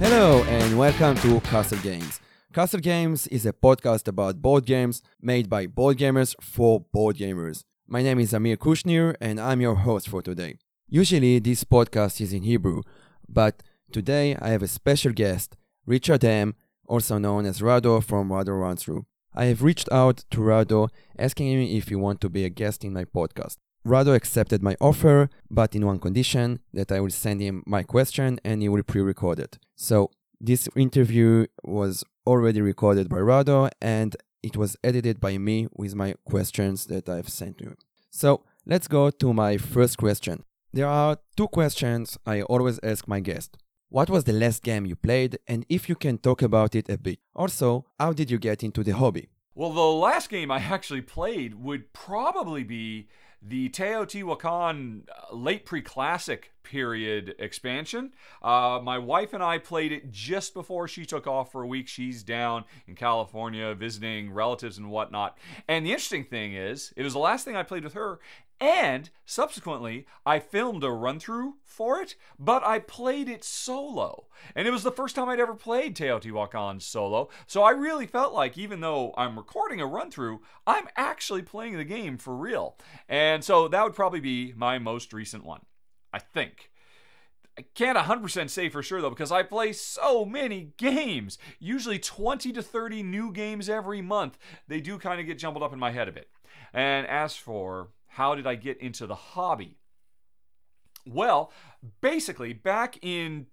Hello and welcome to Castle Games. Castle Games is a podcast about board games made by board gamers for board gamers. My name is Amir Kushnir and I'm your host for today. Usually this podcast is in Hebrew, but today I have a special guest, Richard M., also known as Rado from Rado Runs Through. I have reached out to Rado asking him if he wants to be a guest in my podcast. Rado accepted my offer, but in one condition, that I will send him my question and he will pre-record it. So this interview was already recorded by Rado and it was edited by me with my questions that I've sent to him. So let's go to my first question. There are two questions I always ask my guest. What was the last game you played, and if you can talk about it a bit? Also, how did you get into the hobby? Well, the last game I actually played would probably be the Teotihuacan late pre-classic period expansion. My wife and I played it just before she took off for a week. She's down in California visiting relatives and whatnot. And the interesting thing is, it was the last thing I played with her. And subsequently, I filmed a run-through for it, but I played it solo. And it was the first time I'd ever played Teotihuacan solo. So I really felt like, even though I'm recording a run-through, I'm actually playing the game for real. And so that would probably be my most recent one, I think. I can't 100% say for sure, though, because I play so many games. Usually 20 to 30 new games every month. They do kind of get jumbled up in my head a bit. And as for how did I get into the hobby? Well, basically, back in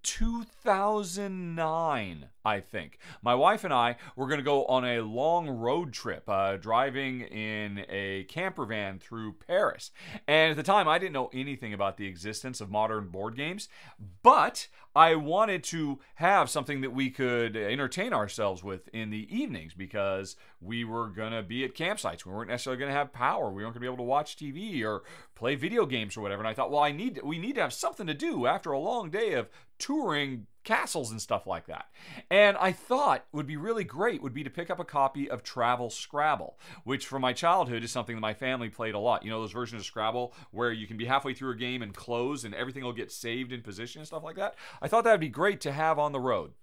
2009, I think, my wife and I were going to go on a long road trip, driving in a camper van through Paris. And at the time, I didn't know anything about the existence of modern board games, but I wanted to have something that we could entertain ourselves with in the evenings because we were going to be at campsites. We weren't necessarily going to have power. We weren't going to be able to watch TV or play video games or whatever. And I thought, well, we need to have something to do after a long day of touring castles and stuff like that. And I thought would be really great would be to pick up a copy of Travel Scrabble, which from my childhood is something that my family played a lot. You know, those versions of Scrabble where you can be halfway through a game and close and everything will get saved in position and stuff like that. I thought that would be great to have on the road.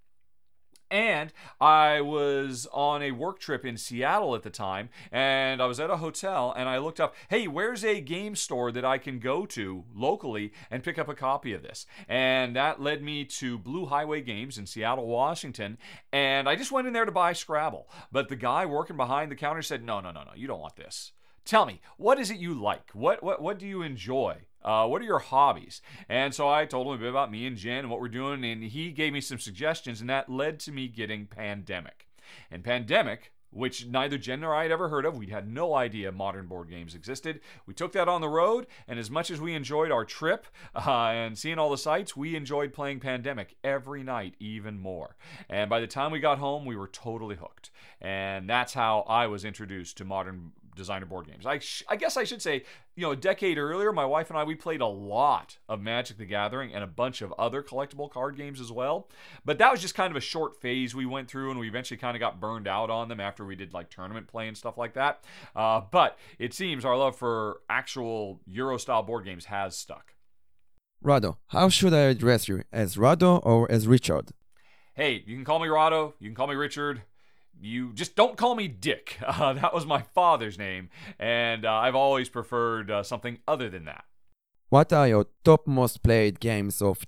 And I was on a work trip in Seattle at the time, and I was at a hotel, and I looked up, hey, where's a game store that I can go to locally and pick up a copy of this? And that led me to Blue Highway Games in Seattle, Washington, and I just went in there to buy Scrabble. But the guy working behind the counter said, no, you don't want this. Tell me, what is it you like? What do you enjoy? What are your hobbies? And so I told him a bit about me and Jen and what we're doing, and he gave me some suggestions, and that led to me getting Pandemic. And Pandemic, which neither Jen nor I had ever heard of, we had no idea modern board games existed. We took that on the road, and as much as we enjoyed our trip and seeing all the sights, we enjoyed playing Pandemic every night even more. And by the time we got home, we were totally hooked. And that's how I was introduced to modern designer board games. I guess I should say, a decade earlier, my wife and I, we played a lot of Magic the Gathering and a bunch of other collectible card games as well. But that was just kind of a short phase we went through, and we eventually kind of got burned out on them after we did like tournament play and stuff like that. But it seems our love for actual Euro-style board games has stuck. Rado, how should I address you? As Rado or as Richard? Hey, you can call me Rado, you can call me Richard. You just don't call me Dick. That was my father's name, and I've always preferred something other than that. What are your top most played games of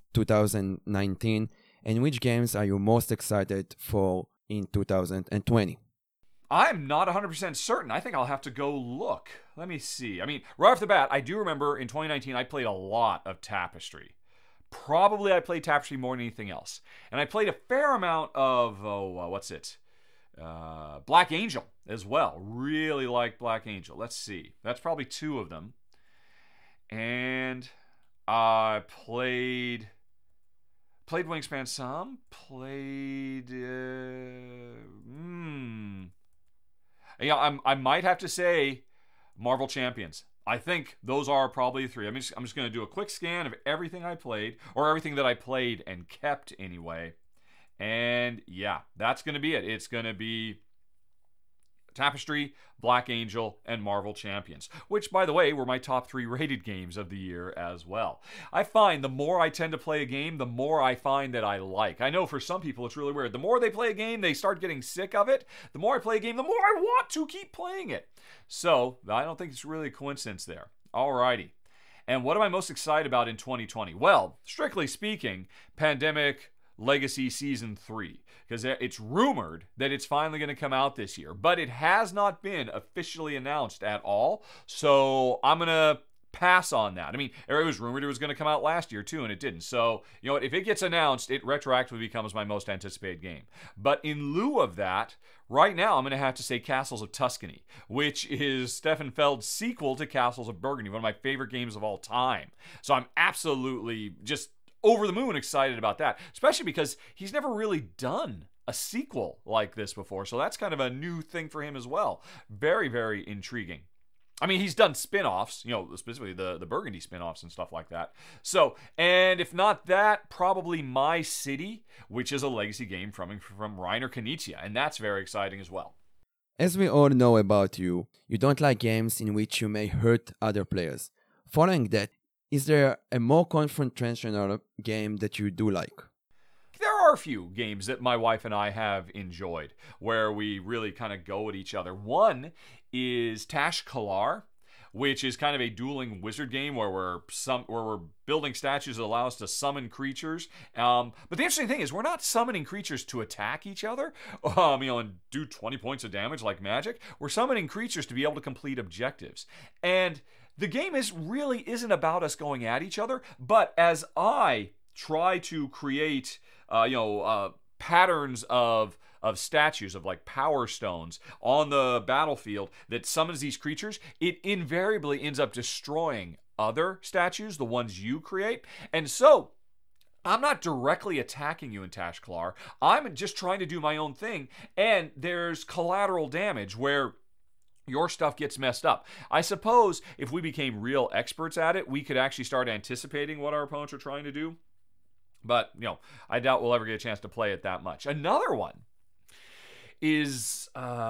2019, and which games are you most excited for in 2020? I'm not 100% certain. I think I'll have to go look. Let me see. I mean, right off the bat, I do remember in 2019 I played a lot of Tapestry. Probably I played Tapestry more than anything else. And I played a fair amount of, Black Angel as well. Really like Black Angel. Let's see. That's probably two of them. And I played Wingspan some. I might have to say Marvel Champions. I think those are probably three. I'm just going to do a quick scan of everything I played, or everything that I played and kept anyway. And yeah, that's going to be it. It's going to be Tapestry, Black Angel, and Marvel Champions, which, by the way, were my top 3 rated games of the year as well. I find the more I tend to play a game, the more I find that I like. I know for some people it's really weird. The more they play a game, they start getting sick of it. The more I play a game, the more I want to keep playing it. So, I don't think it's really a coincidence there. Alrighty. And what am I most excited about in 2020? Well, strictly speaking, Pandemic Legacy Season 3, because it's rumored that it's finally going to come out this year, but it has not been officially announced at all, so I'm going to pass on that. I mean, it was rumored it was going to come out last year too, and it didn't. So, you know what, if it gets announced, it retroactively becomes my most anticipated game. But in lieu of that, right now I'm going to have to say Castles of Tuscany, which is Stefan Feld's sequel to Castles of Burgundy, one of my favorite games of all time. So I'm absolutely just over the moon excited about that, especially because he's never really done a sequel like this before, so that's kind of a new thing for him as well. Very, very intriguing. I mean, he's done spin-offs, you know, specifically the Burgundy spin-offs and stuff like that. So, and if not that, probably My City, which is a legacy game from Reiner Knizia, and that's very exciting as well. As we all know about you, you don't like games in which you may hurt other players. Following that, is there a more confrontational game that you do like? There are a few games that my wife and I have enjoyed where we really kind of go at each other. One is Tash Kalar, which is kind of a dueling wizard game where we're building statues that allow us to summon creatures. But the interesting thing is we're not summoning creatures to attack each other, and do 20 points of damage like Magic. We're summoning creatures to be able to complete objectives. And the game really isn't about us going at each other, but as I try to create, patterns of statues, of like power stones on the battlefield that summons these creatures, it invariably ends up destroying other statues, the ones you create. And so I'm not directly attacking you in Tash Kalar. I'm just trying to do my own thing, and there's collateral damage where your stuff gets messed up. I suppose if we became real experts at it, we could actually start anticipating what our opponents are trying to do. But, I doubt we'll ever get a chance to play it that much. Another one is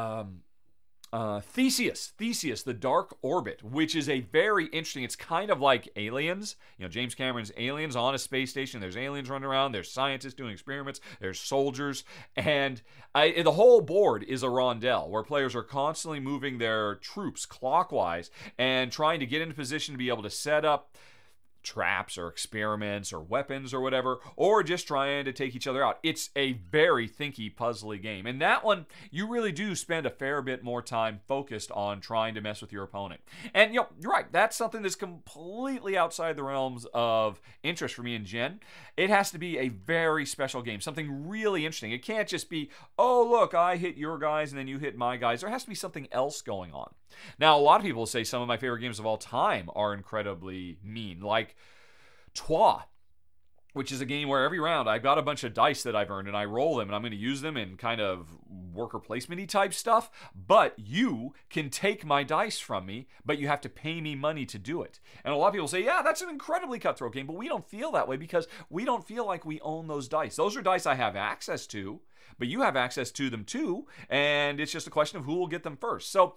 Theseus, The Dark Orbit, which is a very interesting, it's kind of like Aliens, James Cameron's Aliens on a space station. There's aliens running around, there's scientists doing experiments, there's soldiers, and the whole board is a rondel where players are constantly moving their troops clockwise and trying to get into position to be able to set up traps or experiments or weapons or whatever, or just trying to take each other out. It's a very thinky, puzzly game. And that one, you really do spend a fair bit more time focused on trying to mess with your opponent. And, you're right, that's something that's completely outside the realms of interest for me and Jen. It has to be a very special game, something really interesting. It can't just be, oh, look, I hit your guys and then you hit my guys. There has to be something else going on. Now, a lot of people say some of my favorite games of all time are incredibly mean, like Troyes, which is a game where every round I've got a bunch of dice that I've earned and I roll them and I'm going to use them in kind of worker placement-y type stuff, but you can take my dice from me, but you have to pay me money to do it. And a lot of people say, yeah, that's an incredibly cutthroat game, but we don't feel that way because we don't feel like we own those dice. Those are dice I have access to, but you have access to them too, and it's just a question of who will get them first. So,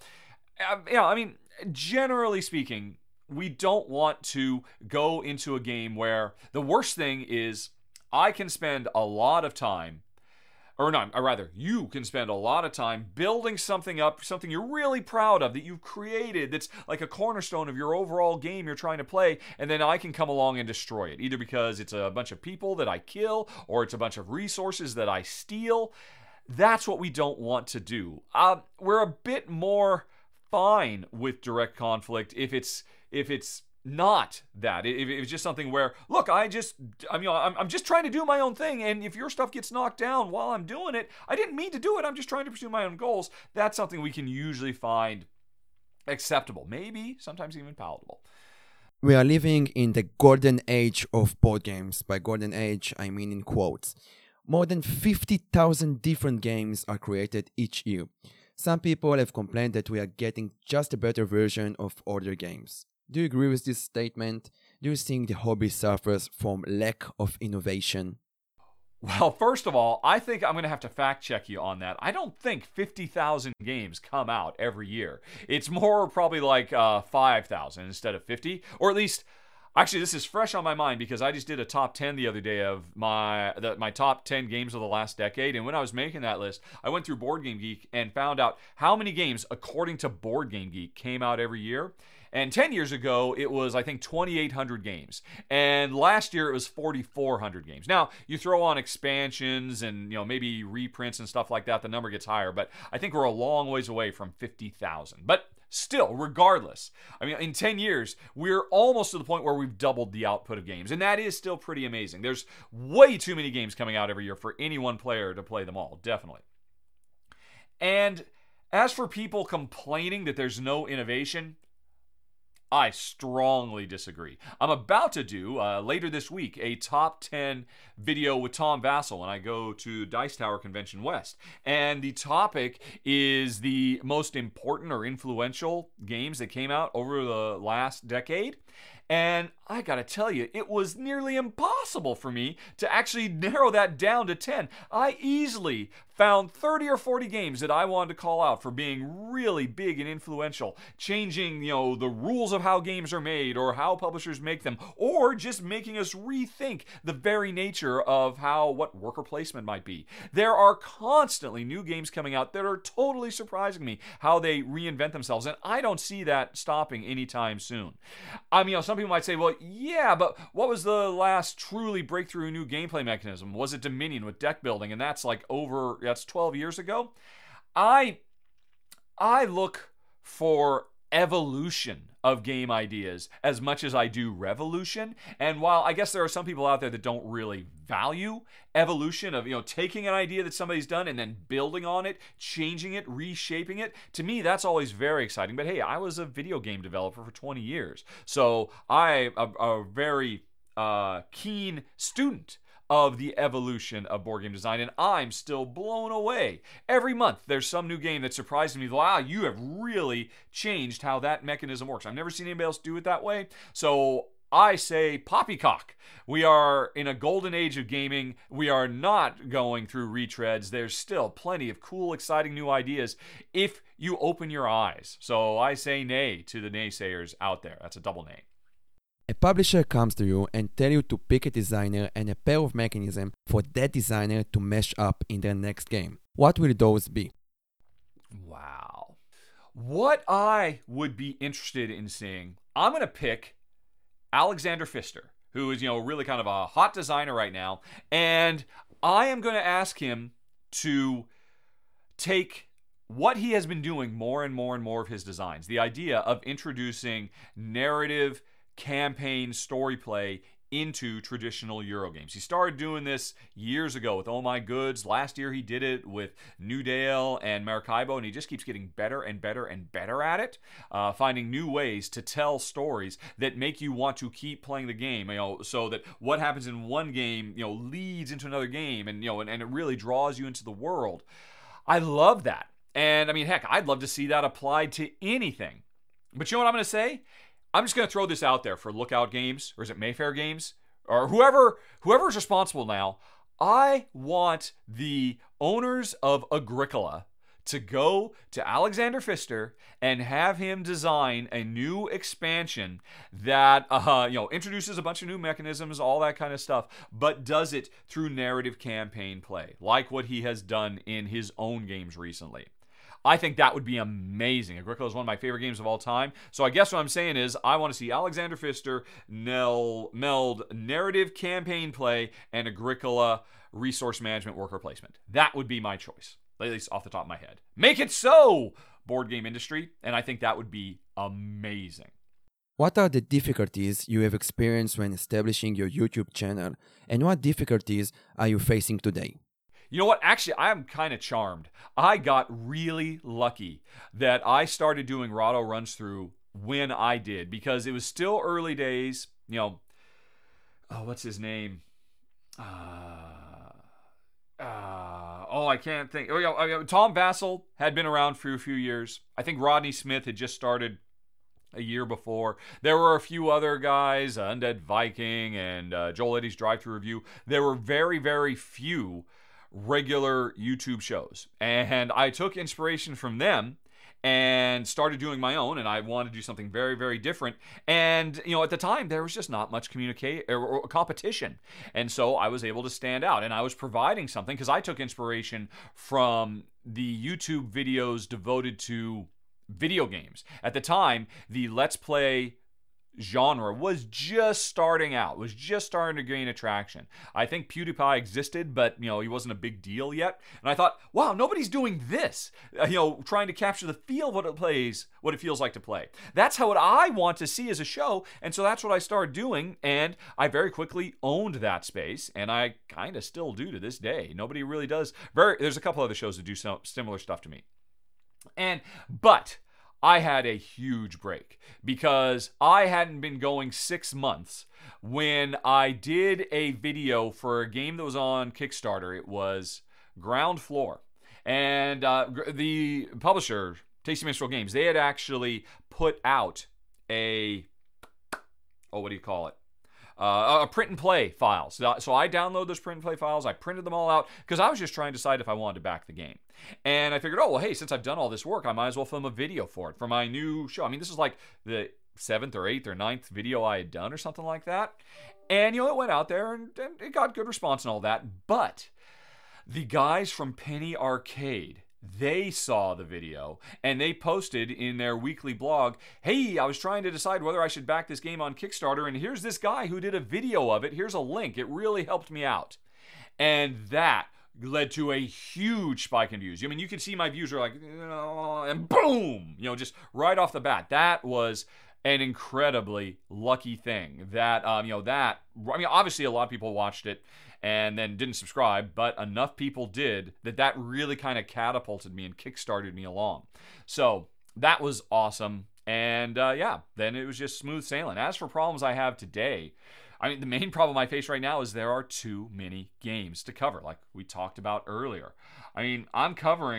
generally speaking, we don't want to go into a game where the worst thing is I can spend a lot of time, you can spend a lot of time building something up, something you're really proud of, that you've created, that's like a cornerstone of your overall game you're trying to play, and then I can come along and destroy it, either because it's a bunch of people that I kill, or it's a bunch of resources that I steal. That's what we don't want to do. We're a bit more fine with direct conflict if it's not that. If it's just something where, look, I'm just trying to do my own thing, and if your stuff gets knocked down while I'm doing it, I didn't mean to do it, I'm just trying to pursue my own goals. That's something we can usually find acceptable, maybe sometimes even palatable. We are living in the golden age of board games. By golden age, I mean in quotes. More than 50,000 different games are created each year. Some people have complained that we are getting just a better version of older games. Do you agree with this statement? Do you think the hobby suffers from lack of innovation? Well, first of all, I think I'm going to have to fact check you on that. I don't think 50,000 games come out every year. It's more probably like 5,000 instead of 50, or at least. Actually, this is fresh on my mind because I just did a top 10 the other day of my top 10 games of the last decade. And when I was making that list, I went through Board Game Geek and found out how many games, according to Board Game Geek, came out every year. And 10 years ago, it was, I think, 2,800 games. And last year, it was 4,400 games. Now, you throw on expansions and, maybe reprints and stuff like that, the number gets higher. But I think we're a long ways away from 50,000. But still, regardless, I mean, in 10 years, we're almost to the point where we've doubled the output of games. And that is still pretty amazing. There's way too many games coming out every year for any one player to play them all, definitely. And as for people complaining that there's no innovation, I strongly disagree. I'm about to do, later this week, a top 10 video with Tom Vasel when I go to Dice Tower Convention West. And the topic is the most important or influential games that came out over the last decade. And I gotta tell you, it was nearly impossible for me to actually narrow that down to 10. I easily found 30 or 40 games that I wanted to call out for being really big and influential, changing, the rules of how games are made or how publishers make them, or just making us rethink the very nature of what worker placement might be. There are constantly new games coming out that are totally surprising me how they reinvent themselves, and I don't see that stopping anytime soon. I mean, some people might say, well, yeah, but what was the last truly breakthrough new gameplay mechanism? Was it Dominion with deck building? And that's 12 years ago. I look for evolution of game ideas as much as I do revolution. And while I guess there are some people out there that don't really value evolution of, taking an idea that somebody's done and then building on it, changing it, reshaping it, to me, that's always very exciting. But hey, I was a video game developer for 20 years. So I'm a very keen student of the evolution of board game design, and I'm still blown away. Every month, there's some new game that surprises me. Wow, you have really changed how that mechanism works. I've never seen anybody else do it that way. So I say poppycock. We are in a golden age of gaming. We are not going through retreads. There's still plenty of cool, exciting new ideas if you open your eyes. So I say nay to the naysayers out there. That's a double nay. A publisher comes to you and tell you to pick a designer and a pair of mechanisms for that designer to mesh up in their next game. What will those be? Wow. What I would be interested in seeing, I'm going to pick Alexander Pfister, who is, really kind of a hot designer right now, and I am going to ask him to take what he has been doing more and more and more of his designs, the idea of introducing narrative campaign story play into traditional Euro games. He started doing this years ago with Oh My Goods. Last year he did it with New Dale and Maracaibo, and he just keeps getting better and better and better at it, finding new ways to tell stories that make you want to keep playing the game, so that what happens in one game, leads into another game, and it really draws you into the world. I love that. And I mean, heck, I'd love to see that applied to anything. But you know what I'm going to say? I'm just going to throw this out there for Lookout Games, or is it Mayfair Games? Or whoever's responsible now. I want the owners of Agricola to go to Alexander Pfister and have him design a new expansion that introduces a bunch of new mechanisms, all that kind of stuff, but does it through narrative campaign play, like what he has done in his own games recently. I think that would be amazing. Agricola is one of my favorite games of all time. So I guess what I'm saying is I want to see Alexander Pfister meld narrative campaign play and Agricola resource management worker placement. That would be my choice, at least off the top of my head. Make it so, board game industry, and I think that would be amazing. What are the difficulties you have experienced when establishing your YouTube channel, and what difficulties are you facing today? You know what? Actually, I'm kind of charmed. I got really lucky that I started doing Rahdo Runs Through when I did, because it was still early days. What's his name? I can't think. Tom Vasel had been around for a few years. I think Rodney Smith had just started a year before. There were a few other guys, Undead Viking and Joel Eddy's Drive-Thru Review. There were very, very few regular YouTube shows. And I took inspiration from them and started doing my own, and I wanted to do something very, very different. And, at the time, there was just not much competition. And so I was able to stand out, and I was providing something because I took inspiration from the YouTube videos devoted to video games. At the time, the Let's Play genre was just starting out, was just starting to gain attraction. I think PewDiePie existed, but he wasn't a big deal yet. And I thought, wow, nobody's doing this. Trying to capture the feel of what it feels like to play. That's how I want to see as a show, and so that's what I started doing. And I very quickly owned that space, and I kind of still do to this day. Nobody really does. There's a couple other shows that do some similar stuff to me. But I had a huge break because I hadn't been going 6 months when I did a video for a game that was on Kickstarter. It was Ground Floor. And the publisher, Tasty Minstrel Games, they had actually put out a print and play file. So I downloaded those print and play files. I printed them all out because I was just trying to decide if I wanted to back the game. And I figured, hey, since I've done all this work, I might as well film a video for it, for my new show. I mean, this is like the 7th or 8th or 9th video I had done or something like that. And, it went out there and it got good response and all that. But the guys from Penny Arcade, they saw the video and they posted in their weekly blog, hey, I was trying to decide whether I should back this game on Kickstarter, and here's this guy who did a video of it. Here's a link. It really helped me out. And that led to a huge spike in views. I mean, you can see my views are like, and boom, just right off the bat. That was an incredibly lucky thing that, obviously a lot of people watched it and then didn't subscribe, but enough people did that really kind of catapulted me and kickstarted me along. So that was awesome. And then it was just smooth sailing. As for problems I have today, the main problem I face right now is there are too many games to cover, like we talked about earlier. I'm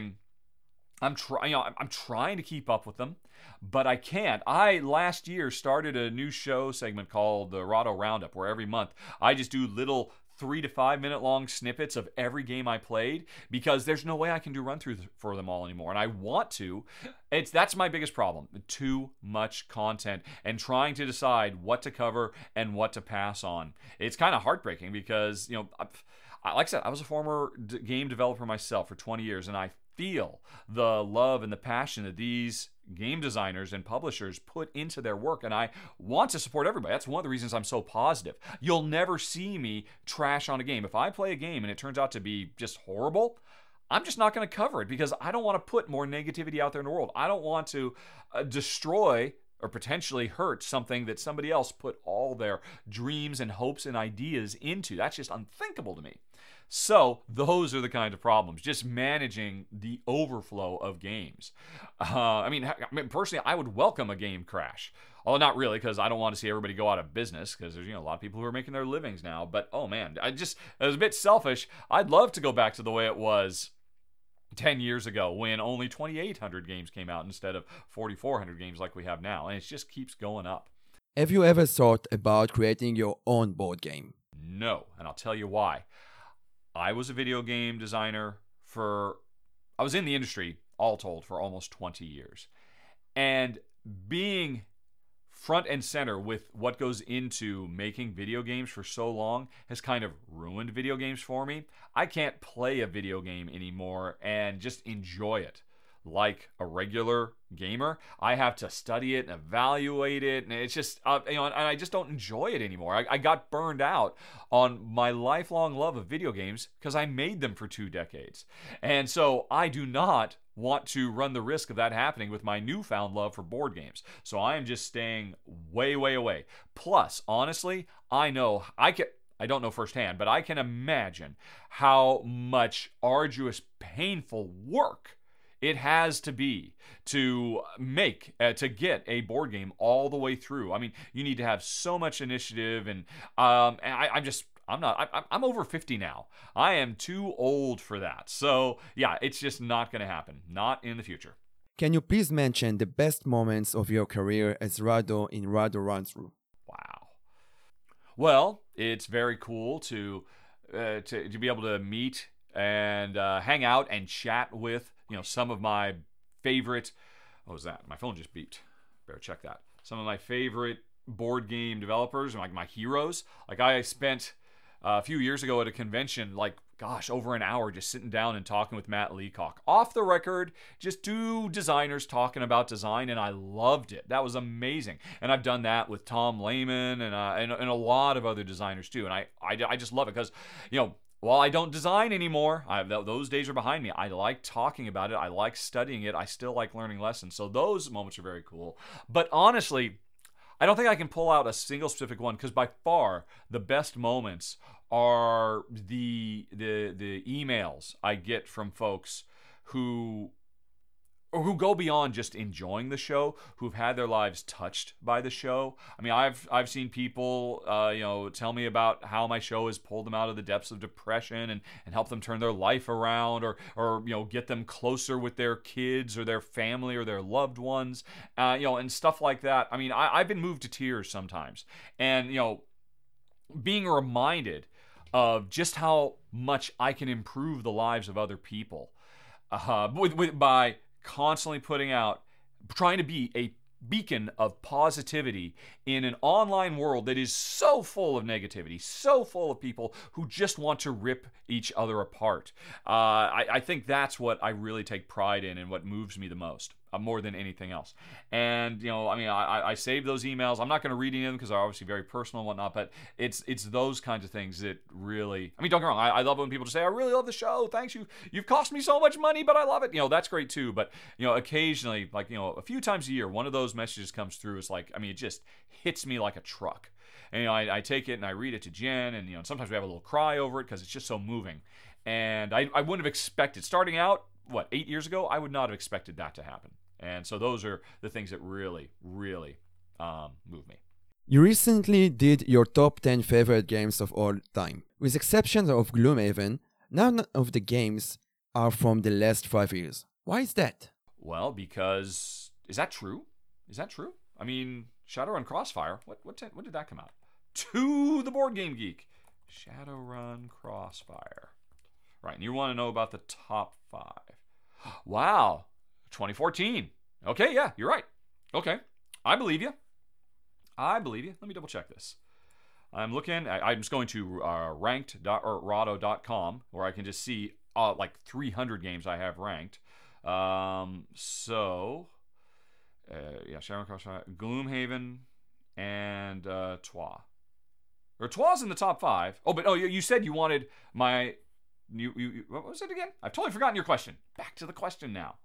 trying to keep up with them, but I can't. I last year started a new show segment called the Rahdo Roundup, where every month I just do little 3 to 5 minute long snippets of every game I played, because there's no way I can do run through for them all anymore. And I want to. That's my biggest problem. Too much content and trying to decide what to cover and what to pass on. It's kind of heartbreaking because, like I said, I was a former game developer myself for 20 years, and I feel the love and the passion that these game designers and publishers put into their work, and I want to support everybody. That's one of the reasons I'm so positive. You'll never see me trash on a game. If I play a game and it turns out to be just horrible, I'm just not going to cover it because I don't want to put more negativity out there in the world. I don't want to destroy or potentially hurt something that somebody else put all their dreams and hopes and ideas into. That's just unthinkable to me. So those are the kind of problems, just managing the overflow of games. Personally, I would welcome a game crash. Although not really, because I don't want to see everybody go out of business, because there's a lot of people who are making their livings now. But oh man, it was a bit selfish. I'd love to go back to the way it was 10 years ago when only 2,800 games came out instead of 4,400 games like we have now. And it just keeps going up. Have you ever thought about creating your own board game? No, and I'll tell you why. I was a video game designer I was in the industry, all told, for almost 20 years. And being front and center with what goes into making video games for so long has kind of ruined video games for me. I can't play a video game anymore and just enjoy it like a regular gamer. I have to study it and evaluate it, and it's just and I just don't enjoy it anymore. I got burned out on my lifelong love of video games because I made them for 2 decades, and so I do not want to run the risk of that happening with my newfound love for board games. So I am just staying way, way away. Plus, honestly, I don't know firsthand, but I can imagine how much arduous, painful work it has to be to get a board game all the way through. You need to have so much initiative, and I'm over 50 now. I am too old for that. So yeah, it's just not going to happen. Not in the future. Can you please mention the best moments of your career as Rado in Rado Run Through? Wow. Well, it's very cool to be able to meet and hang out and chat with some of my favorite. What was that? My phone just beeped. Better check that. Some of my favorite board game developers, like my heroes. Like I spent a few years ago at a convention, over an hour just sitting down and talking with Matt Leacock. Off the record, just two designers talking about design, and I loved it. That was amazing. And I've done that with Tom Lehman and a lot of other designers too. And I just love it because, while I don't design anymore, those days are behind me. I like talking about it. I like studying it. I still like learning lessons. So those moments are very cool. But honestly, I don't think I can pull out a single specific one because by far the best moments are the emails I get from folks who go beyond just enjoying the show, who've had their lives touched by the show. I mean, I've seen people, tell me about how my show has pulled them out of the depths of depression and helped them turn their life around, or get them closer with their kids or their family or their loved ones, and stuff like that. I mean, I've been moved to tears sometimes, and being reminded of just how much I can improve the lives of other people, by constantly trying to be a beacon of positivity in an online world that is so full of negativity, so full of people who just want to rip each other apart. I think that's what I really take pride in and what moves me the most, more than anything else. And, I saved those emails. I'm not going to read any of them because they're obviously very personal and whatnot, but it's those kinds of things that really, don't get me wrong, I love when people just say, I really love the show. Thanks, you've cost me so much money, but I love it. That's great too. But, occasionally, a few times a year, one of those messages comes through. It's it just hits me like a truck. And, I take it and I read it to Jen, and, sometimes we have a little cry over it because it's just so moving. And I wouldn't have expected, starting out, 8 years ago, I would not have expected that to happen. And so those are the things that really, really move me. You recently did your top 10 favorite games of all time. With exception of Gloomhaven, none of the games are from the last 5 years. Why is that? Well, because... Is that true? I mean, Shadowrun Crossfire, when did that come out? To the Board Game Geek. Shadowrun Crossfire. Right, and you want to know about the top 5. Wow, 2014. Okay, yeah, you're right. Okay, I believe you. Let me double check this. I'm just going to ranked.rado.com where I can just see 300 games I have ranked. Shadowrun Crossfire, Gloomhaven, and Troyes. Or Troyes in the top 5. You said you wanted my... what was it again? I've totally forgotten your question. Back to the question now.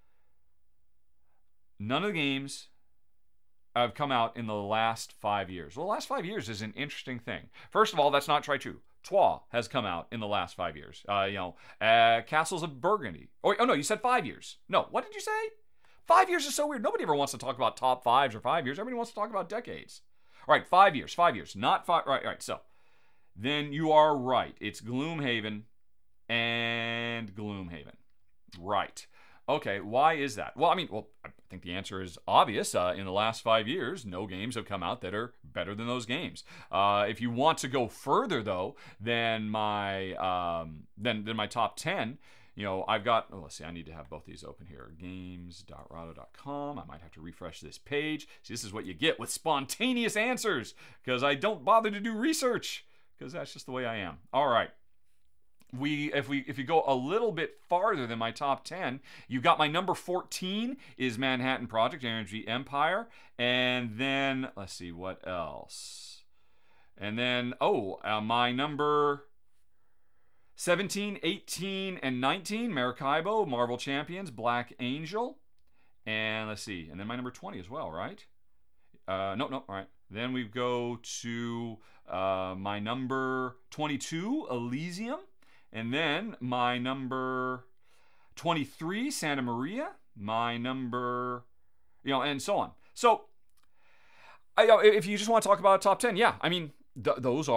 None of the games have come out in the last 5 years. Well, the last 5 years is an interesting thing. First of all, that's not true. Troyes has come out in the last 5 years. Castles of Burgundy. You said 5 years. No, what did you say? 5 years is so weird. Nobody ever wants to talk about top 5s or 5 years. Everybody wants to talk about decades. All right, 5 years, not 5. Right. So then you are right. It's Gloomhaven and Gloomhaven. Right. Okay, why is that? Well, I think the answer is obvious. In the last 5 years, no games have come out that are better than those games. If you want to go further, though, than my top 10, I've got... let's see, I need to have both these open here. Games.rado.com. I might have to refresh this page. See, this is what you get with spontaneous answers, because I don't bother to do research, because that's just the way I am. All right. If you go a little bit farther than my top 10, you've got my number 14 is Manhattan Project Energy Empire, and then let's see what else. And then my number 17, 18, and 19, Maracaibo, Marvel Champions, Black Angel, and let's see, and then my number 20 as well, right? No, all right. Then we go to my number 22, Elysium. And then my number 23, Santa Maria. My number, and so on. So, if you just want to talk about top 10, yeah, those are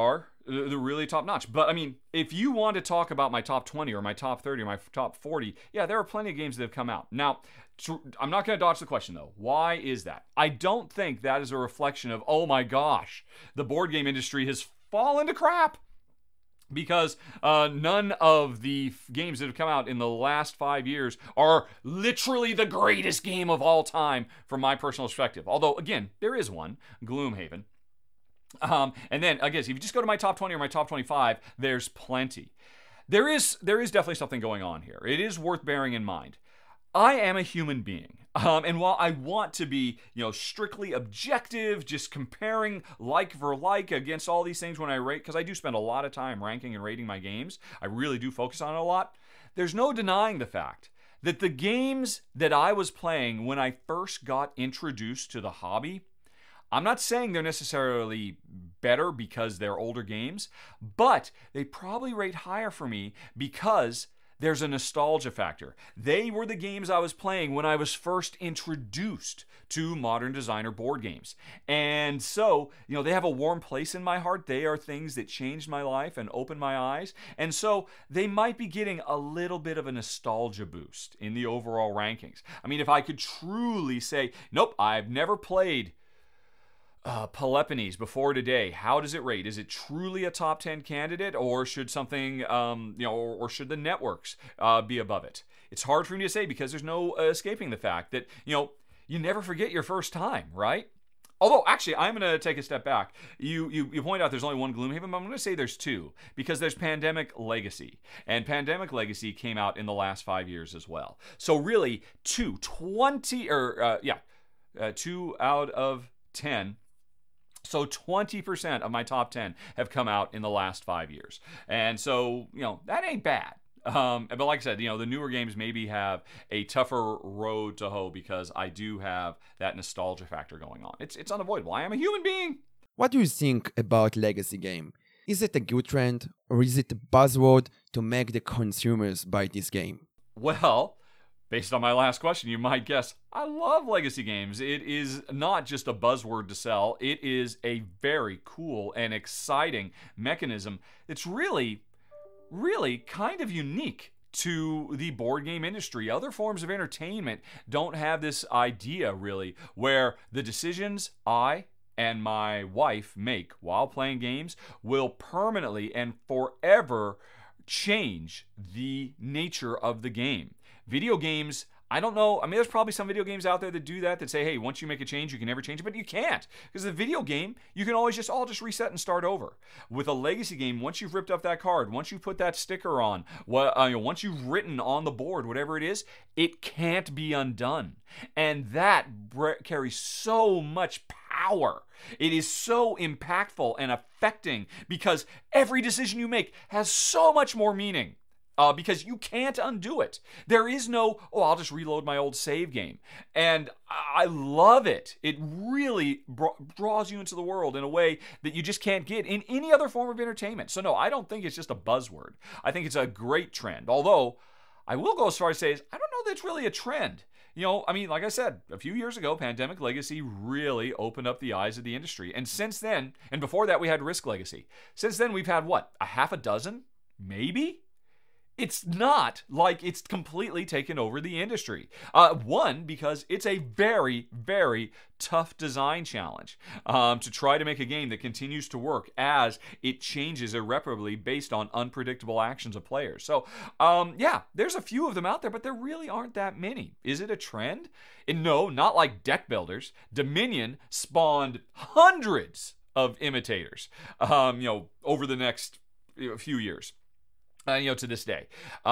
They're really top notch. But I mean, if you want to talk about my top 20 or my top 30 or my top 40, yeah, there are plenty of games that have come out. Now, I'm not going to dodge the question though. Why is that? I don't think that is a reflection of, oh my gosh, the board game industry has fallen to crap. Because none of the games that have come out in the last 5 years are literally the greatest game of all time from my personal perspective. Although, again, there is one, Gloomhaven. And then, I guess, if you just go to my top 20 or my top 25, there's plenty. There is definitely something going on here. It is worth bearing in mind. I am a human being. And while I want to be, strictly objective, just comparing like for like against all these things when I rate, because I do spend a lot of time ranking and rating my games, I really do focus on it a lot, there's no denying the fact that the games that I was playing when I first got introduced to the hobby, I'm not saying they're necessarily better because they're older games, but they probably rate higher for me because there's a nostalgia factor. They were the games I was playing when I was first introduced to Modern Designer board games. And so, they have a warm place in my heart. They are things that changed my life and opened my eyes. And so they might be getting a little bit of a nostalgia boost in the overall rankings. I mean, if I could truly say, nope, I've never played Peloponnese before today, how does it rate? Is it truly a top 10 candidate, or should something, or should the networks be above it? It's hard for me to say because there's no escaping the fact that, you never forget your first time, right? Although, actually, I'm going to take a step back. You point out there's only one Gloomhaven, but I'm going to say there's two, because there's Pandemic Legacy. And Pandemic Legacy came out in the last 5 years as well. So really, 2 out of 10. So 20% of my top 10 have come out in the last 5 years. And so, that ain't bad. But like I said, the newer games maybe have a tougher road to hoe because I do have that nostalgia factor going on. It's unavoidable. I am a human being. What do you think about legacy game? Is it a good trend, or is it a buzzword to make the consumers buy this game? Well, based on my last question, you might guess I love legacy games. It is not just a buzzword to sell. It is a very cool and exciting mechanism. It's really kind of unique to the board game industry. Other forms of entertainment don't have this idea, really, where the decisions I and my wife make while playing games will permanently and forever change the nature of the game. Video games, I don't know. I mean, there's probably some video games out there that do that say, hey, once you make a change, you can never change it. But you can't. Because the video game, you can always just reset and start over. With a legacy game, once you've ripped up that card, once you put that sticker on, once you've written on the board, whatever it is, it can't be undone. And that carries so much power. It is so impactful and affecting because every decision you make has so much more meaning. Because you can't undo it. There is no, I'll just reload my old save game. And I love it. It really draws you into the world in a way that you just can't get in any other form of entertainment. So no, I don't think it's just a buzzword. I think it's a great trend. Although, I will go as far as to say, I don't know that it's really a trend. Like I said, a few years ago, Pandemic Legacy really opened up the eyes of the industry. And since then, and before that we had Risk Legacy. Since then we've had a half a dozen? Maybe? It's not like it's completely taken over the industry. One, because it's a very, very tough design challenge to try to make a game that continues to work as it changes irreparably based on unpredictable actions of players. So, there's a few of them out there, but there really aren't that many. Is it a trend? No, not like Deck Builders. Dominion spawned hundreds of imitators, over the next few years. To this day.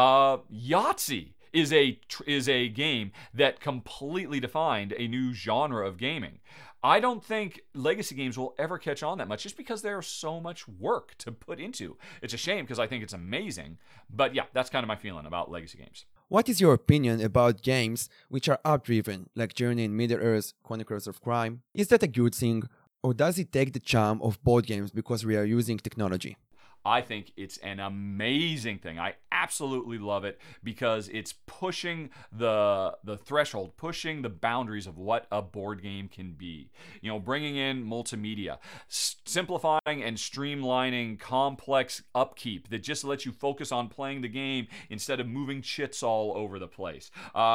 Yahtzee is a game that completely defined a new genre of gaming. I don't think legacy games will ever catch on that much just because there's so much work to put into. It's a shame because I think it's amazing. But yeah, that's kind of my feeling about legacy games. What is your opinion about games which are art-driven, like Journey in Middle-earth, Chronicles of Crime? Is that a good thing, or does it take the charm of board games because we are using technology? I think it's an amazing thing. I absolutely love it because it's pushing the threshold, pushing the boundaries of what a board game can be. You know, bringing in multimedia, simplifying and streamlining complex upkeep that just lets you focus on playing the game instead of moving chits all over the place.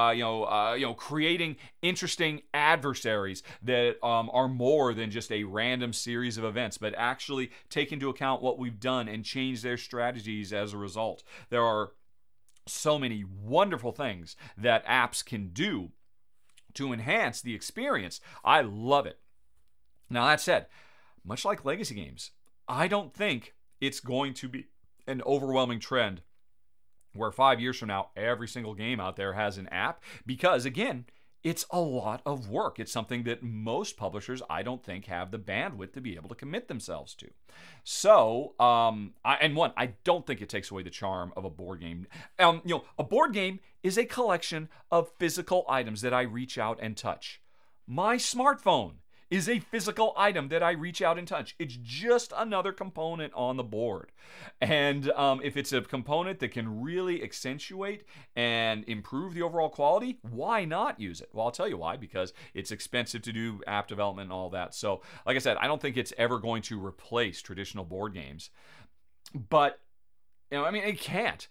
Creating interesting adversaries that are more than just a random series of events, but actually take into account what we've done and change their strategies as a result. There are so many wonderful things that apps can do to enhance the experience. I love it. Now, that said, much like legacy games, I don't think it's going to be an overwhelming trend where 5 years from now, every single game out there has an app, because again, it's a lot of work. It's something that most publishers, I don't think, have the bandwidth to be able to commit themselves to. So, I don't think it takes away the charm of a board game. A board game is a collection of physical items that I reach out and touch. My smartphone is a physical item that I reach out and touch. It's just another component on the board. And if it's a component that can really accentuate and improve the overall quality, why not use it? Well, I'll tell you why, because it's expensive to do app development and all that. So, like I said, I don't think it's ever going to replace traditional board games. But, it can't.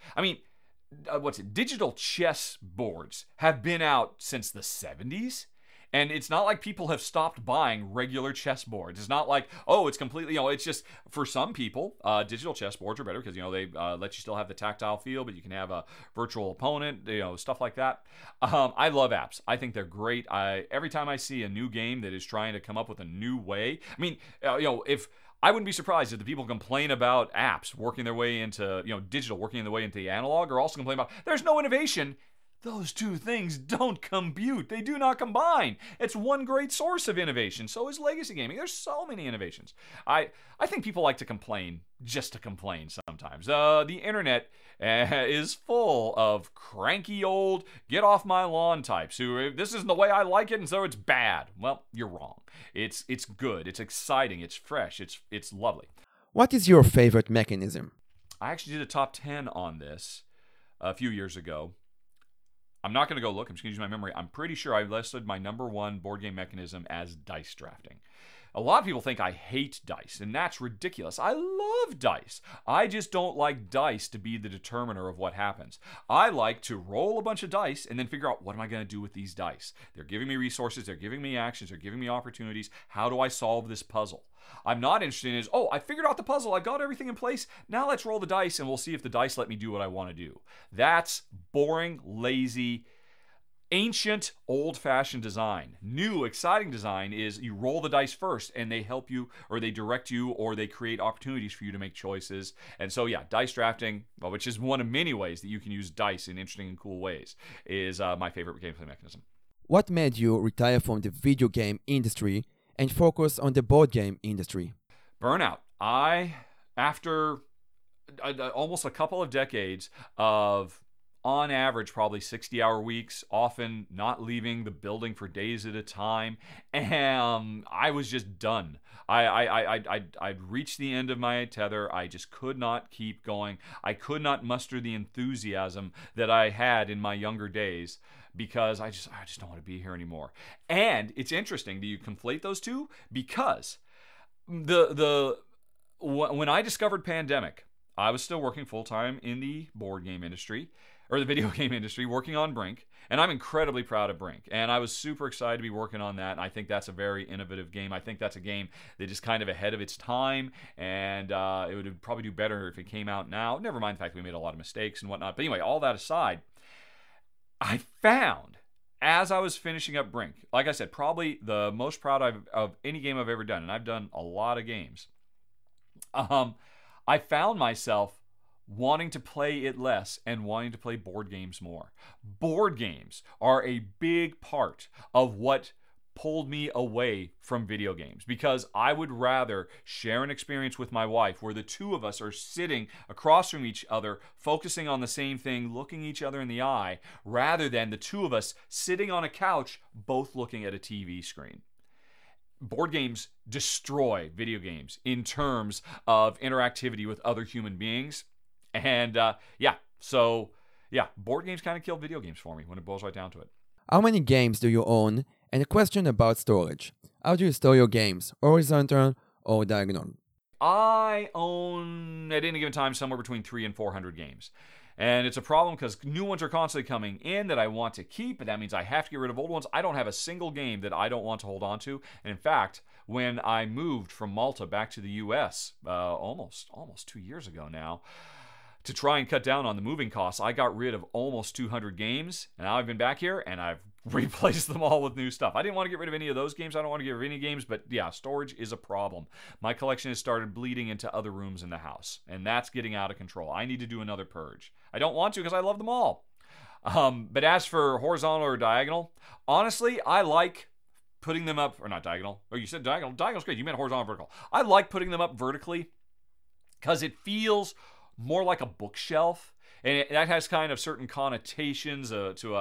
Digital chess boards have been out since the 70s. And it's not like people have stopped buying regular chess boards. It's not like, it's completely, it's just, for some people, digital chess boards are better because, they let you still have the tactile feel, but you can have a virtual opponent, stuff like that. I love apps. I think they're great. Every time I see a new game that is trying to come up with a new way, if I wouldn't be surprised if the people complain about apps working their way into, digital, working their way into the analog, or also complain about there's no innovation. Those two things don't compute. They do not combine. It's one great source of innovation. So is legacy gaming. There's so many innovations. I think people like to complain just to complain sometimes. The internet is full of cranky old get off my lawn types who, this isn't the way I like it and so it's bad. Well, you're wrong. It's good. It's exciting. It's fresh. It's lovely. What is your favorite mechanism? I actually did a top 10 on this a few years ago. I'm not going to go look. I'm just going to use my memory. I'm pretty sure I listed my number one board game mechanism as dice drafting. A lot of people think I hate dice, and that's ridiculous. I love dice. I just don't like dice to be the determiner of what happens. I like to roll a bunch of dice and then figure out, what am I going to do with these dice? They're giving me resources. They're giving me actions. They're giving me opportunities. How do I solve this puzzle? I'm not interested in I figured out the puzzle. I got everything in place. Now let's roll the dice and we'll see if the dice let me do what I want to do. That's boring, lazy, ancient, old-fashioned design. New, exciting design is you roll the dice first and they help you, or they direct you, or they create opportunities for you to make choices. And so, dice drafting, which is one of many ways that you can use dice in interesting and cool ways, is my favorite gameplay mechanism. What made you retire from the video game industry and focus on the board game industry? Burnout. After almost a couple of decades of, on average, probably 60-hour weeks, often not leaving the building for days at a time, and I was just done. I'd reached the end of my tether. I just could not keep going. I could not muster the enthusiasm that I had in my younger days, because I just don't want to be here anymore. And it's interesting that you conflate those two, because when I discovered Pandemic, I was still working full-time in the board game industry, or the video game industry, working on Brink, and I'm incredibly proud of Brink, and I was super excited to be working on that, and I think that's a very innovative game. I think that's a game that is kind of ahead of its time, and it would probably do better if it came out now. Never mind the fact that we made a lot of mistakes and whatnot, but anyway, all that aside, I found, as I was finishing up Brink, like I said, probably the most proud of any game I've ever done, and I've done a lot of games, I found myself wanting to play it less and wanting to play board games more. Board games are a big part of what pulled me away from video games, because I would rather share an experience with my wife where the two of us are sitting across from each other, focusing on the same thing, looking each other in the eye, rather than the two of us sitting on a couch, both looking at a TV screen. board games destroy video games in terms of interactivity with other human beings. And board games kind of killed video games for me when it boils right down to it. How many games do you own? And a question about storage. How do you store your games? Horizontal or diagonal? I own, at any given time, somewhere between 300 and 400 games. And it's a problem because new ones are constantly coming in that I want to keep, but that means I have to get rid of old ones. I don't have a single game that I don't want to hold on to. And in fact, when I moved from Malta back to the U.S. almost 2 years ago now, to try and cut down on the moving costs, I got rid of almost 200 games. And now I've been back here and I've replaced them all with new stuff. I didn't want to get rid of any of those games. I don't want to get rid of any games, but yeah, storage is a problem. My collection has started bleeding into other rooms in the house, and that's getting out of control. I need to do another purge. I don't want to because I love them all. But as for horizontal or diagonal, honestly, I like putting them up, or not diagonal. Oh, you said diagonal. Diagonal's great. You meant horizontal or vertical. I like putting them up vertically because it feels more like a bookshelf, and that has kind of certain connotations to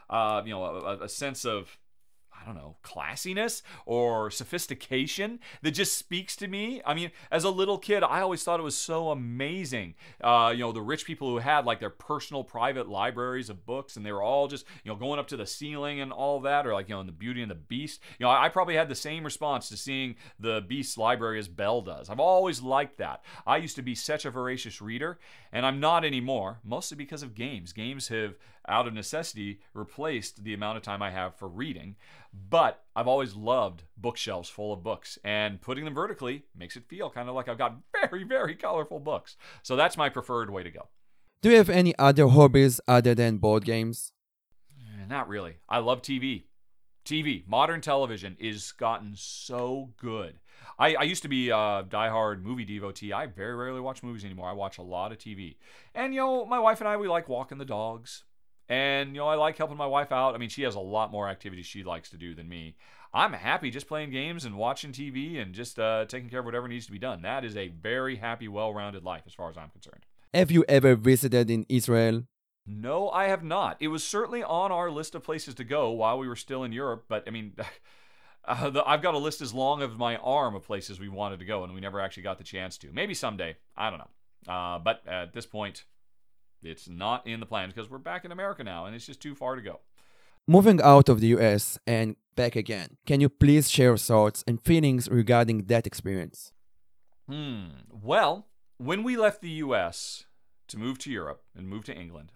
a sense of, I don't know, classiness or sophistication that just speaks to me. I mean, as a little kid, I always thought it was so amazing. The rich people who had like their personal private libraries of books, and they were all just, going up to the ceiling and all that, or like, in the Beauty and the Beast. I probably had the same response to seeing the Beast's library as Belle does. I've always liked that. I used to be such a voracious reader, and I'm not anymore, mostly because of games. Games have, out of necessity, replaced the amount of time I have for reading. But I've always loved bookshelves full of books, and putting them vertically makes it feel kind of like I've got very, very colorful books. So that's my preferred way to go. Do you have any other hobbies other than board games? Not really. I love TV. Modern television is gotten so good. I used to be a diehard movie devotee. I very rarely watch movies anymore. I watch a lot of TV. And, my wife and I, we like walking the dogs. And, I like helping my wife out. I mean, she has a lot more activities she likes to do than me. I'm happy just playing games and watching TV and just taking care of whatever needs to be done. That is a very happy, well-rounded life as far as I'm concerned. Have you ever visited in Israel? No, I have not. It was certainly on our list of places to go while we were still in Europe. But, I mean, I've got a list as long as my arm of places we wanted to go, and we never actually got the chance to. Maybe someday. I don't know. But at this point, it's not in the plans because we're back in America now, and it's just too far to go. Moving out of the US and back again, can you please share thoughts and feelings regarding that experience? Well, when we left the US to move to Europe and move to England,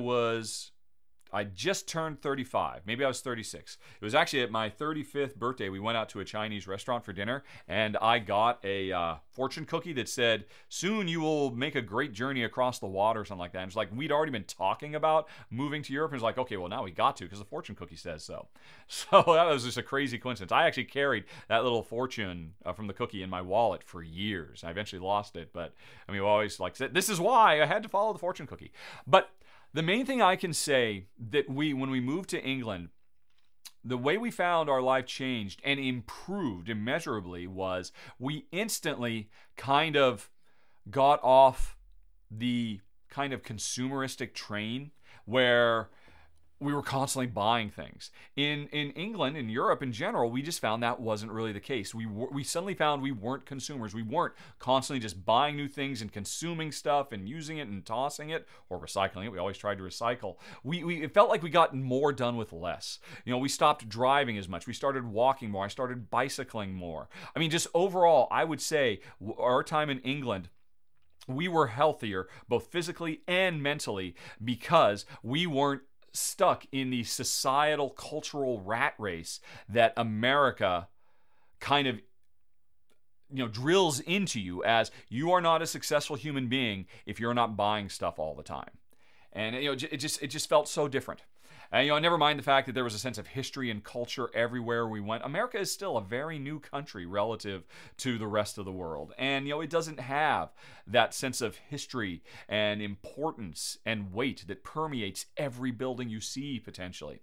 I just turned 35. Maybe I was 36. It was actually at my 35th birthday. We went out to a Chinese restaurant for dinner, and I got a fortune cookie that said, "Soon you will make a great journey across the water," or something like that. And it's like we'd already been talking about moving to Europe, and it's like, okay, well, now we got to because the fortune cookie says so. So that was just a crazy coincidence. I actually carried that little fortune from the cookie in my wallet for years. I eventually lost it, but I mean, we always said, this is why I had to follow the fortune cookie. But the main thing I can say that when we moved to England, the way we found our life changed and improved immeasurably was we instantly kind of got off the kind of consumeristic train where we were constantly buying things. In England, in Europe in general, we just found that wasn't really the case. We suddenly found we weren't consumers. We weren't constantly just buying new things and consuming stuff and using it and tossing it or recycling it. We always tried to recycle. It felt like we got more done with less. We stopped driving as much. We started walking more. I started bicycling more. I mean, just overall, I would say our time in England, we were healthier both physically and mentally because we weren't stuck in the societal cultural rat race that America kind of drills into you as you are not a successful human being if you're not buying stuff all the time. And it just felt so different. And never mind the fact that there was a sense of history and culture everywhere we went. America is still a very new country relative to the rest of the world. And it doesn't have that sense of history and importance and weight that permeates every building you see potentially.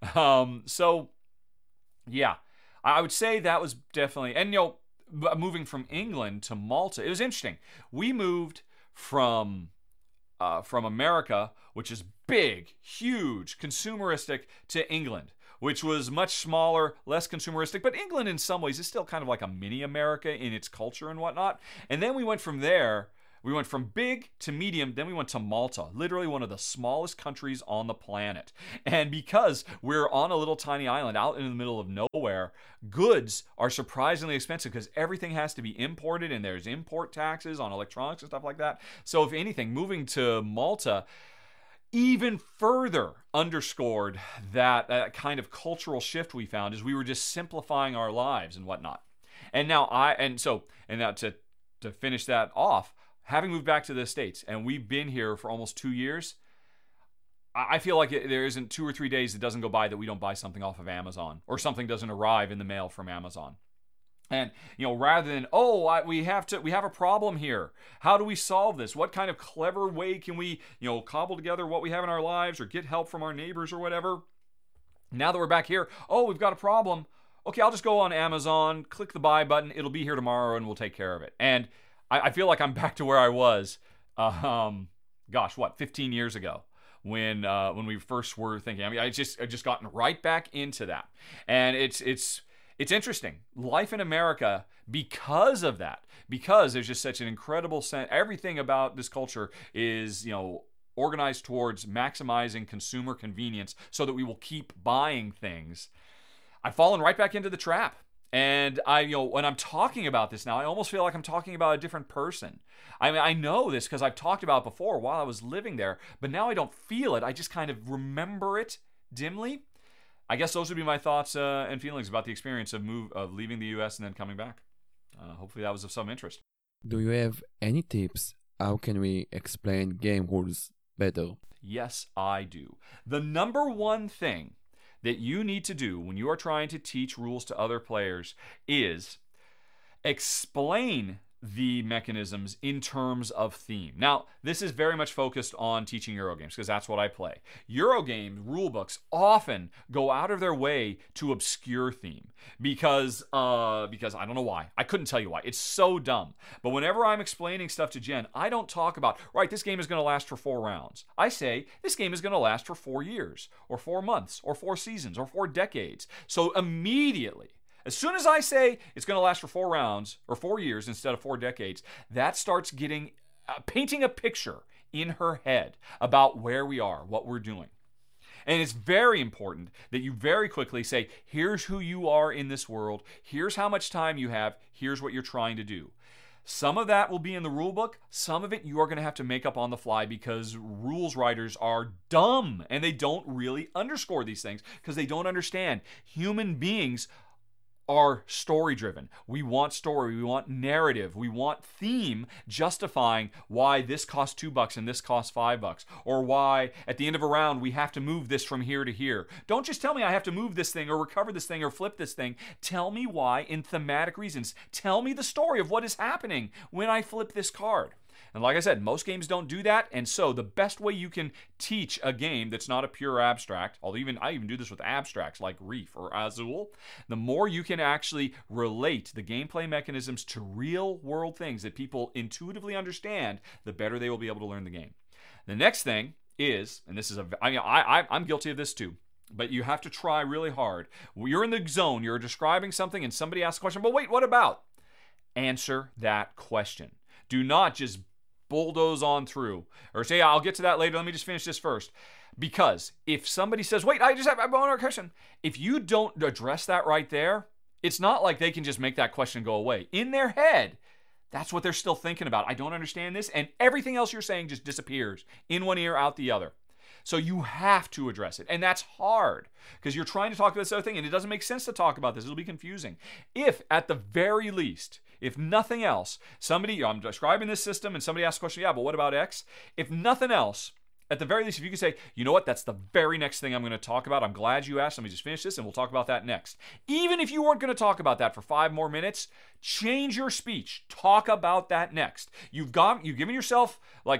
So yeah, I would say that was definitely, and moving from England to Malta, it was interesting. We moved from America, which is big, huge, consumeristic, to England, which was much smaller, less consumeristic. But England, in some ways, is still kind of like a mini America in its culture and whatnot. And then we went from there. We went from big to medium, then we went to Malta, literally one of the smallest countries on the planet. And because we're on a little tiny island out in the middle of nowhere, goods are surprisingly expensive because everything has to be imported and there's import taxes on electronics and stuff like that. So if anything, moving to Malta even further underscored that kind of cultural shift we found as we were just simplifying our lives and whatnot. And now to finish that off, having moved back to the States, and we've been here for almost 2 years, I feel like there isn't 2 or 3 days that doesn't go by that we don't buy something off of Amazon or something doesn't arrive in the mail from Amazon. And, rather than, we have a problem here. How do we solve this? What kind of clever way can we, cobble together what we have in our lives or get help from our neighbors or whatever? Now that we're back here, we've got a problem. Okay, I'll just go on Amazon, click the buy button. It'll be here tomorrow and we'll take care of it. And I feel like I'm back to where I was, 15 years ago when we first were thinking. I mean, I just gotten right back into that, and it's interesting. Life in America, because of that, because there's just such an incredible sense. Everything about this culture is, organized towards maximizing consumer convenience, so that we will keep buying things. I've fallen right back into the trap. And when I'm talking about this now, I almost feel like I'm talking about a different person. I mean, I know this because I've talked about it before while I was living there, but now I don't feel it. I just kind of remember it dimly. I guess those would be my thoughts and feelings about the experience of leaving the U.S. and then coming back. Hopefully that was of some interest. Do you have any tips? How can we explain game rules better? Yes, I do. The number one thing that you need to do when you are trying to teach rules to other players is explain the mechanisms in terms of theme. Now, this is very much focused on teaching Eurogames because that's what I play. Eurogame rulebooks often go out of their way to obscure theme because I don't know why. I couldn't tell you why. It's so dumb. But whenever I'm explaining stuff to Jen, I don't talk about, right, this game is going to last for 4 rounds. I say, this game is going to last for 4 years or 4 months or 4 seasons or 4 decades. So immediately, as soon as I say it's going to last for 4 rounds or 4 years instead of 4 decades, that starts painting a picture in her head about where we are, what we're doing. And it's very important that you very quickly say, here's who you are in this world, here's how much time you have, here's what you're trying to do. Some of that will be in the rule book. Some of it you are going to have to make up on the fly because rules writers are dumb and they don't really underscore these things because they don't understand. Human beings are story driven. We want story, we want narrative, we want theme justifying why this costs $2 and this costs $5, or why at the end of a round we have to move this from here to here. Don't just tell me I have to move this thing or recover this thing or flip this thing. Tell me why in thematic reasons. Tell me the story of what is happening when I flip this card. And like I said, most games don't do that, and so the best way you can teach a game that's not a pure abstract, although I even do this with abstracts like Reef or Azul, the more you can actually relate the gameplay mechanisms to real-world things that people intuitively understand, the better they will be able to learn the game. The next thing is, and this is I'm guilty of this too, but you have to try really hard. You're in the zone, you're describing something, and somebody asks a question, but wait, what about? Answer that question. Do not just bulldoze on through or say, I'll get to that later, let me just finish this first. Because if somebody says, wait, I have one question, if you don't address that right there, it's not like they can just make that question go away. In their head, that's what they're still thinking about. I don't understand this, and everything else you're saying just disappears in one ear, out the other. So you have to address it, and that's hard because you're trying to talk about this other thing, and it doesn't make sense to talk about this. It'll be confusing. If, at the very least, if nothing else, I'm describing this system, and somebody asks a question, yeah, but what about X? If nothing else, at the very least, if you could say, you know what, that's the very next thing I'm going to talk about. I'm glad you asked. Let me just finish this, and we'll talk about that next. Even if you weren't going to talk about that for 5 more minutes, change your speech. Talk about that next. You've given yourself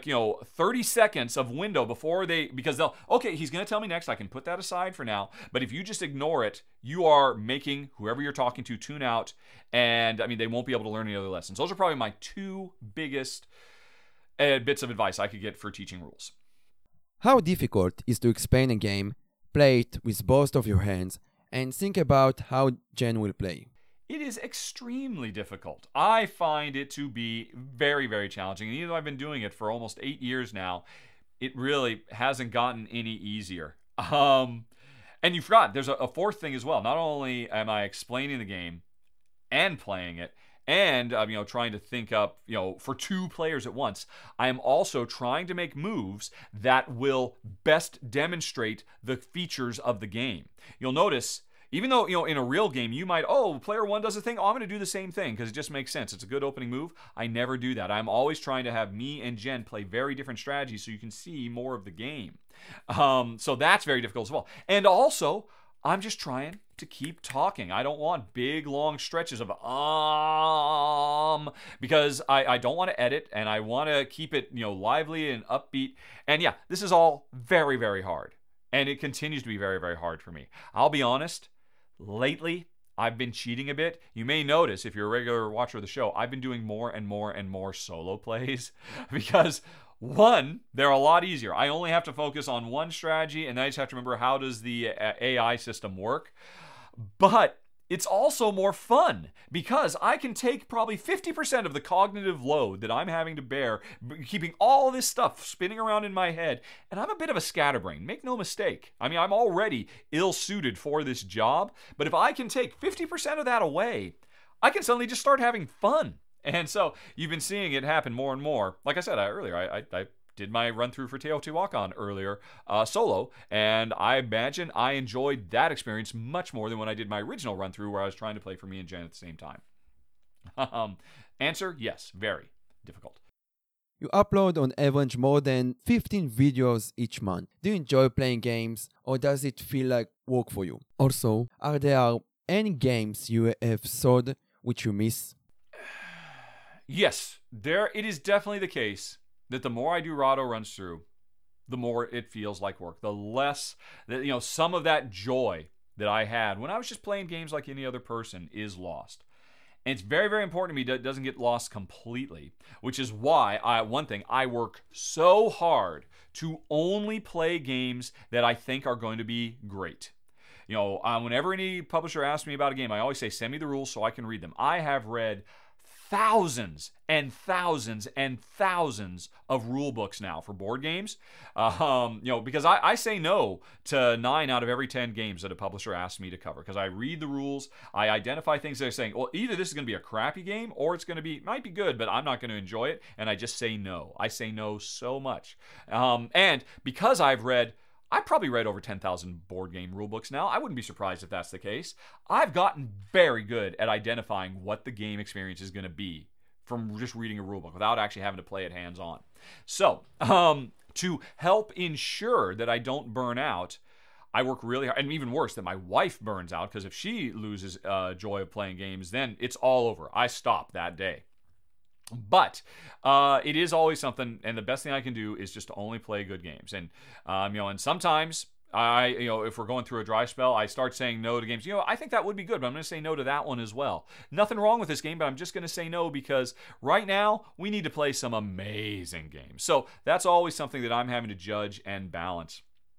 30 seconds of window because he's going to tell me next. I can put that aside for now. But if you just ignore it, you are making whoever you're talking to tune out, and they won't be able to learn any other lessons. Those are probably my 2 biggest bits of advice I could get for teaching rules. How difficult is to explain a game play it with both of your hands, and think about how Jen will play. It is extremely difficult. I find it to be very, very challenging. And even though I've been doing it for almost 8 years now, it really hasn't gotten any easier. And you forgot, there's a fourth thing as well. Not only am I explaining the game and playing it, and trying to think up, for two players at once, I am also trying to make moves that will best demonstrate the features of the game. You'll notice, even though, in a real game, you might, player one does a thing, I'm going to do the same thing because it just makes sense. It's a good opening move. I never do that. I'm always trying to have me and Jen play very different strategies so you can see more of the game. So that's very difficult as well. And also, I'm just trying to keep talking. I don't want big, long stretches of because I don't want to edit, and I want to keep it, lively and upbeat. And yeah, this is all very, very hard. And it continues to be very, very hard for me. I'll be honest, lately, I've been cheating a bit. You may notice, if you're a regular watcher of the show, I've been doing more and more and more solo plays because, one, they're a lot easier. I only have to focus on one strategy, and then I just have to remember how does the AI system work. But it's also more fun because I can take probably 50% of the cognitive load that I'm having to bear, keeping all this stuff spinning around in my head. And I'm a bit of a scatterbrain, make no mistake. I mean, I'm already ill-suited for this job, but if I can take 50% of that away, I can suddenly just start having fun. And so you've been seeing it happen more and more. Like I said earlier, I did my run-through for Teotihuacan earlier solo, and I imagine I enjoyed that experience much more than when I did my original run-through where I was trying to play for me and Jen at the same time. Answer, yes, very difficult. You upload on average more than 15 videos each month. Do you enjoy playing games, or does it feel like work for you? Also, are there any games you have sold which you miss? Yes, it is definitely the case that the more I do Rahdo runs through, the more it feels like work. The less that, some of that joy that I had when I was just playing games like any other person is lost. And it's very, very important to me that it doesn't get lost completely, which is why I work so hard to only play games that I think are going to be great. Whenever any publisher asks me about a game, I always say, send me the rules so I can read them. I have read thousands and thousands and thousands of rule books now for board games, because I say no to 9 out of every 10 games that a publisher asks me to cover, because I read the rules, I identify things that are saying, well, either this is going to be a crappy game or it's going to might be good, but I'm not going to enjoy it, and I just say no. I say no so much. And because I've probably read over 10,000 board game rulebooks now. I wouldn't be surprised if that's the case. I've gotten very good at identifying what the game experience is going to be from just reading a rulebook without actually having to play it hands-on. So, to help ensure that I don't burn out, I work really hard, and even worse, that my wife burns out, because if she loses joy of playing games, then it's all over. I stop that day. But it is always something, and the best thing I can do is just to only play good games. And and sometimes if we're going through a dry spell, I start saying no to games. I think that would be good, but I'm going to say no to that one as well. Nothing wrong with this game, but I'm just going to say no because right now we need to play some amazing games. So that's always something that I'm having to judge and balance,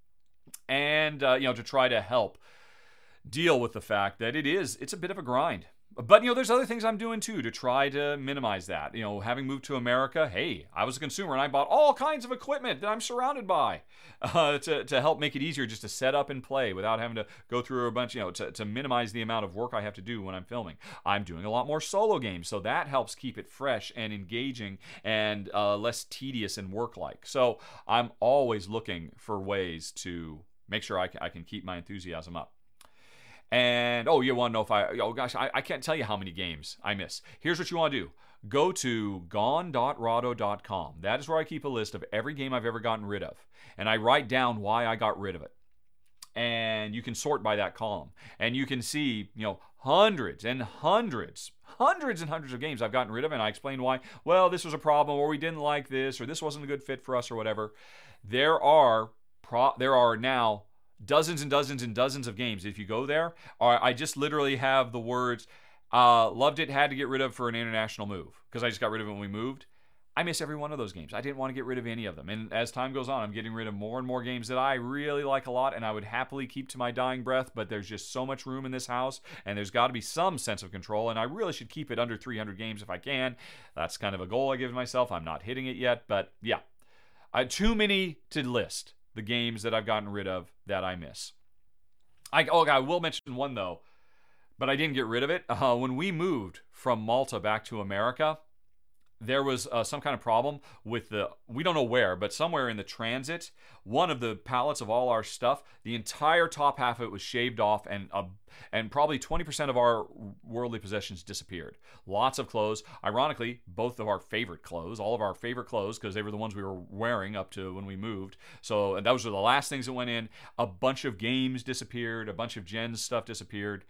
and to try to help deal with the fact that it's a bit of a grind. But, there's other things I'm doing, too, to try to minimize that. Having moved to America, hey, I was a consumer, and I bought all kinds of equipment that I'm surrounded by to help make it easier just to set up and play without having to go through a bunch, to minimize the amount of work I have to do when I'm filming. I'm doing a lot more solo games, so that helps keep it fresh and engaging and less tedious and work-like. So I'm always looking for ways to make sure I can keep my enthusiasm up. And, you want to know if I can't tell you how many games I miss. Here's what you want to do. Go to gone.rahdo.com. That is where I keep a list of every game I've ever gotten rid of. And I write down why I got rid of it. And you can sort by that column. And you can see, hundreds and hundreds of games I've gotten rid of. And I explain why. Well, this was a problem, or we didn't like this, or this wasn't a good fit for us, or whatever. There are now dozens and dozens and dozens of games. If you go there, I just literally have the words, loved it, had to get rid of for an international move, because I just got rid of it when we moved. I miss every one of those games. I didn't want to get rid of any of them. And as time goes on, I'm getting rid of more and more games that I really like a lot and I would happily keep to my dying breath, but there's just so much room in this house and there's got to be some sense of control, and I really should keep it under 300 games if I can. That's kind of a goal I give myself. I'm not hitting it yet, but yeah. Too many to list the games that I've gotten rid of that I miss. I will mention one though, but I didn't get rid of it. When we moved from Malta back to America, there was some kind of problem with we don't know where, but somewhere in the transit, one of the pallets of all our stuff, the entire top half of it was shaved off, and probably 20% of our worldly possessions disappeared. Lots of clothes. Ironically, both of our favorite clothes, all of our favorite clothes, because they were the ones we were wearing up to when we moved. So and those were the last things that went in. A bunch of games disappeared. A bunch of Jen's stuff disappeared.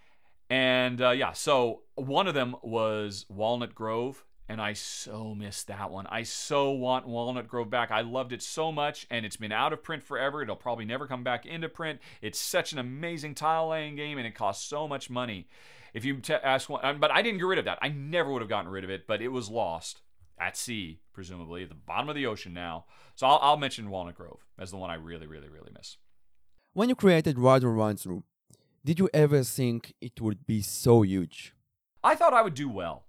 And so one of them was Walnut Grove. And I so missed that one. I so want Walnut Grove back. I loved it so much, and it's been out of print forever. It'll probably never come back into print. It's such an amazing tile-laying game, and it costs so much money. If you ask one, but I didn't get rid of that. I never would have gotten rid of it, but it was lost at sea, presumably, at the bottom of the ocean now. So I'll mention Walnut Grove as the one I really, really, really miss. When you created Radar Run Through, did you ever think it would be so huge? I thought I would do well.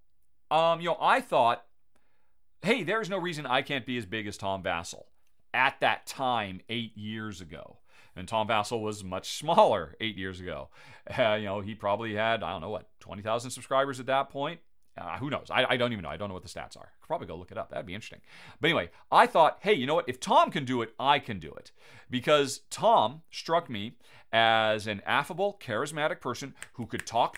I thought, hey, there's no reason I can't be as big as Tom Vasel at that time 8 years ago. And Tom Vasel was much smaller 8 years ago. He probably had, 20,000 subscribers at that point. Who knows? I don't even know. I don't know what the stats are. Could probably go look it up. That'd be interesting. But anyway, I thought, hey, you know what? If Tom can do it, I can do it. Because Tom struck me as an affable, charismatic person who could talk,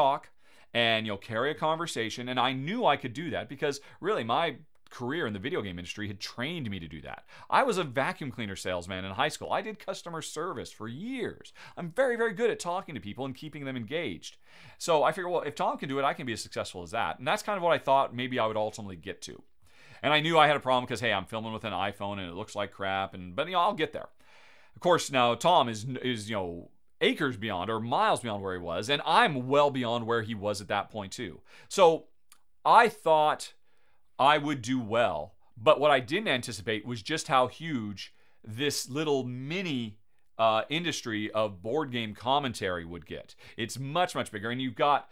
and carry a conversation, and I knew I could do that because really my career in the video game industry had trained me to do that. I was a vacuum cleaner salesman in high school. I did customer service for years. I'm very, very good at talking to people and keeping them engaged. So I figured, well, if Tom can do it, I can be as successful as that. And that's kind of what I thought maybe I would ultimately get to. And I knew I had a problem because, hey, I'm filming with an iPhone and it looks like crap, but I'll get there. Of course, now Tom is acres beyond or miles beyond where he was, and I'm well beyond where he was at that point too. So I thought I would do well, but what I didn't anticipate was just how huge this little mini industry of board game commentary would get. It's much, much bigger, and you've got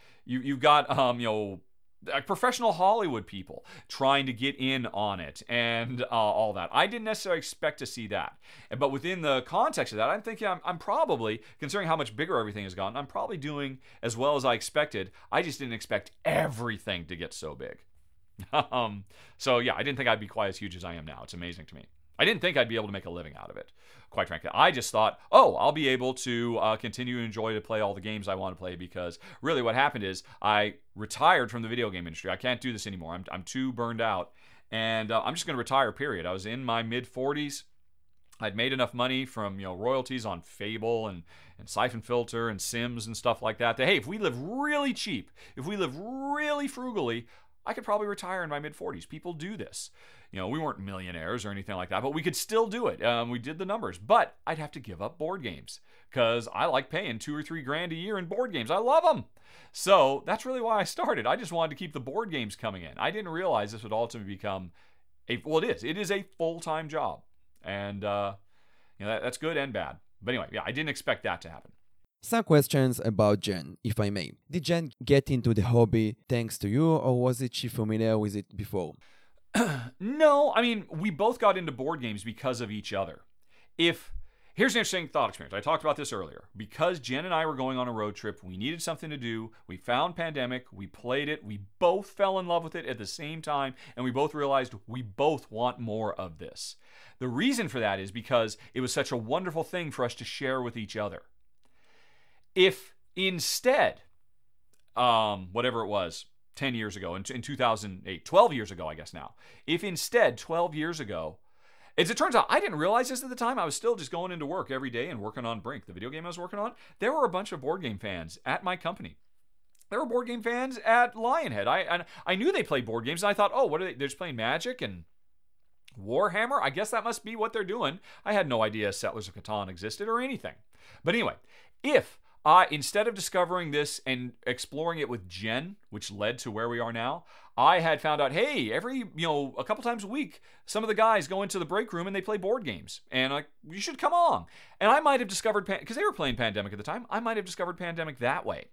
professional Hollywood people trying to get in on it and all that. I didn't necessarily expect to see that. But within the context of that, I'm thinking I'm probably, considering how much bigger everything has gotten, I'm probably doing as well as I expected. I just didn't expect everything to get so big. So yeah, I didn't think I'd be quite as huge as I am now. It's amazing to me. I didn't think I'd be able to make a living out of it, quite frankly. I just thought, I'll be able to continue to enjoy to play all the games I want to play, because really what happened is I retired from the video game industry. I can't do this anymore. I'm too burned out, and I'm just going to retire, period. I was in my mid-40s. I'd made enough money from royalties on Fable and Siphon Filter and Sims and stuff like that, hey, if we live really cheap, if we live really frugally, I could probably retire in my mid-40s. People do this. We weren't millionaires or anything like that, but we could still do it. We did the numbers, but I'd have to give up board games because I like paying $2 or $3 grand a year in board games. I love them. So that's really why I started. I just wanted to keep the board games coming in. I didn't realize this would ultimately become it is a full-time job. And, that's good and bad. But anyway, yeah, I didn't expect that to happen. Some questions about Jen, if I may. Did Jen get into the hobby thanks to you, or was she familiar with it before? No, we both got into board games because of each other. Here's an interesting thought experiment. I talked about this earlier. Because Jen and I were going on a road trip, we needed something to do. We found Pandemic. We played it. We both fell in love with it at the same time, and we both realized we both want more of this. The reason for that is because it was such a wonderful thing for us to share with each other. If instead, whatever it was, 10 years ago, in 2008, 12 years ago, I guess now, if instead 12 years ago, as it turns out, I didn't realize this at the time. I was still just going into work every day and working on Brink, the video game I was working on. There were a bunch of board game fans at my company. There were board game fans at Lionhead. I knew they played board games, and I thought, what are they? They're just playing Magic and Warhammer? I guess that must be what they're doing. I had no idea Settlers of Catan existed or anything. But anyway, if instead of discovering this and exploring it with Jen, which led to where we are now, I had found out, hey, a couple times a week, some of the guys go into the break room and they play board games. And like, you should come along. And I might have discovered, because they were playing Pandemic at the time, I might have discovered Pandemic that way.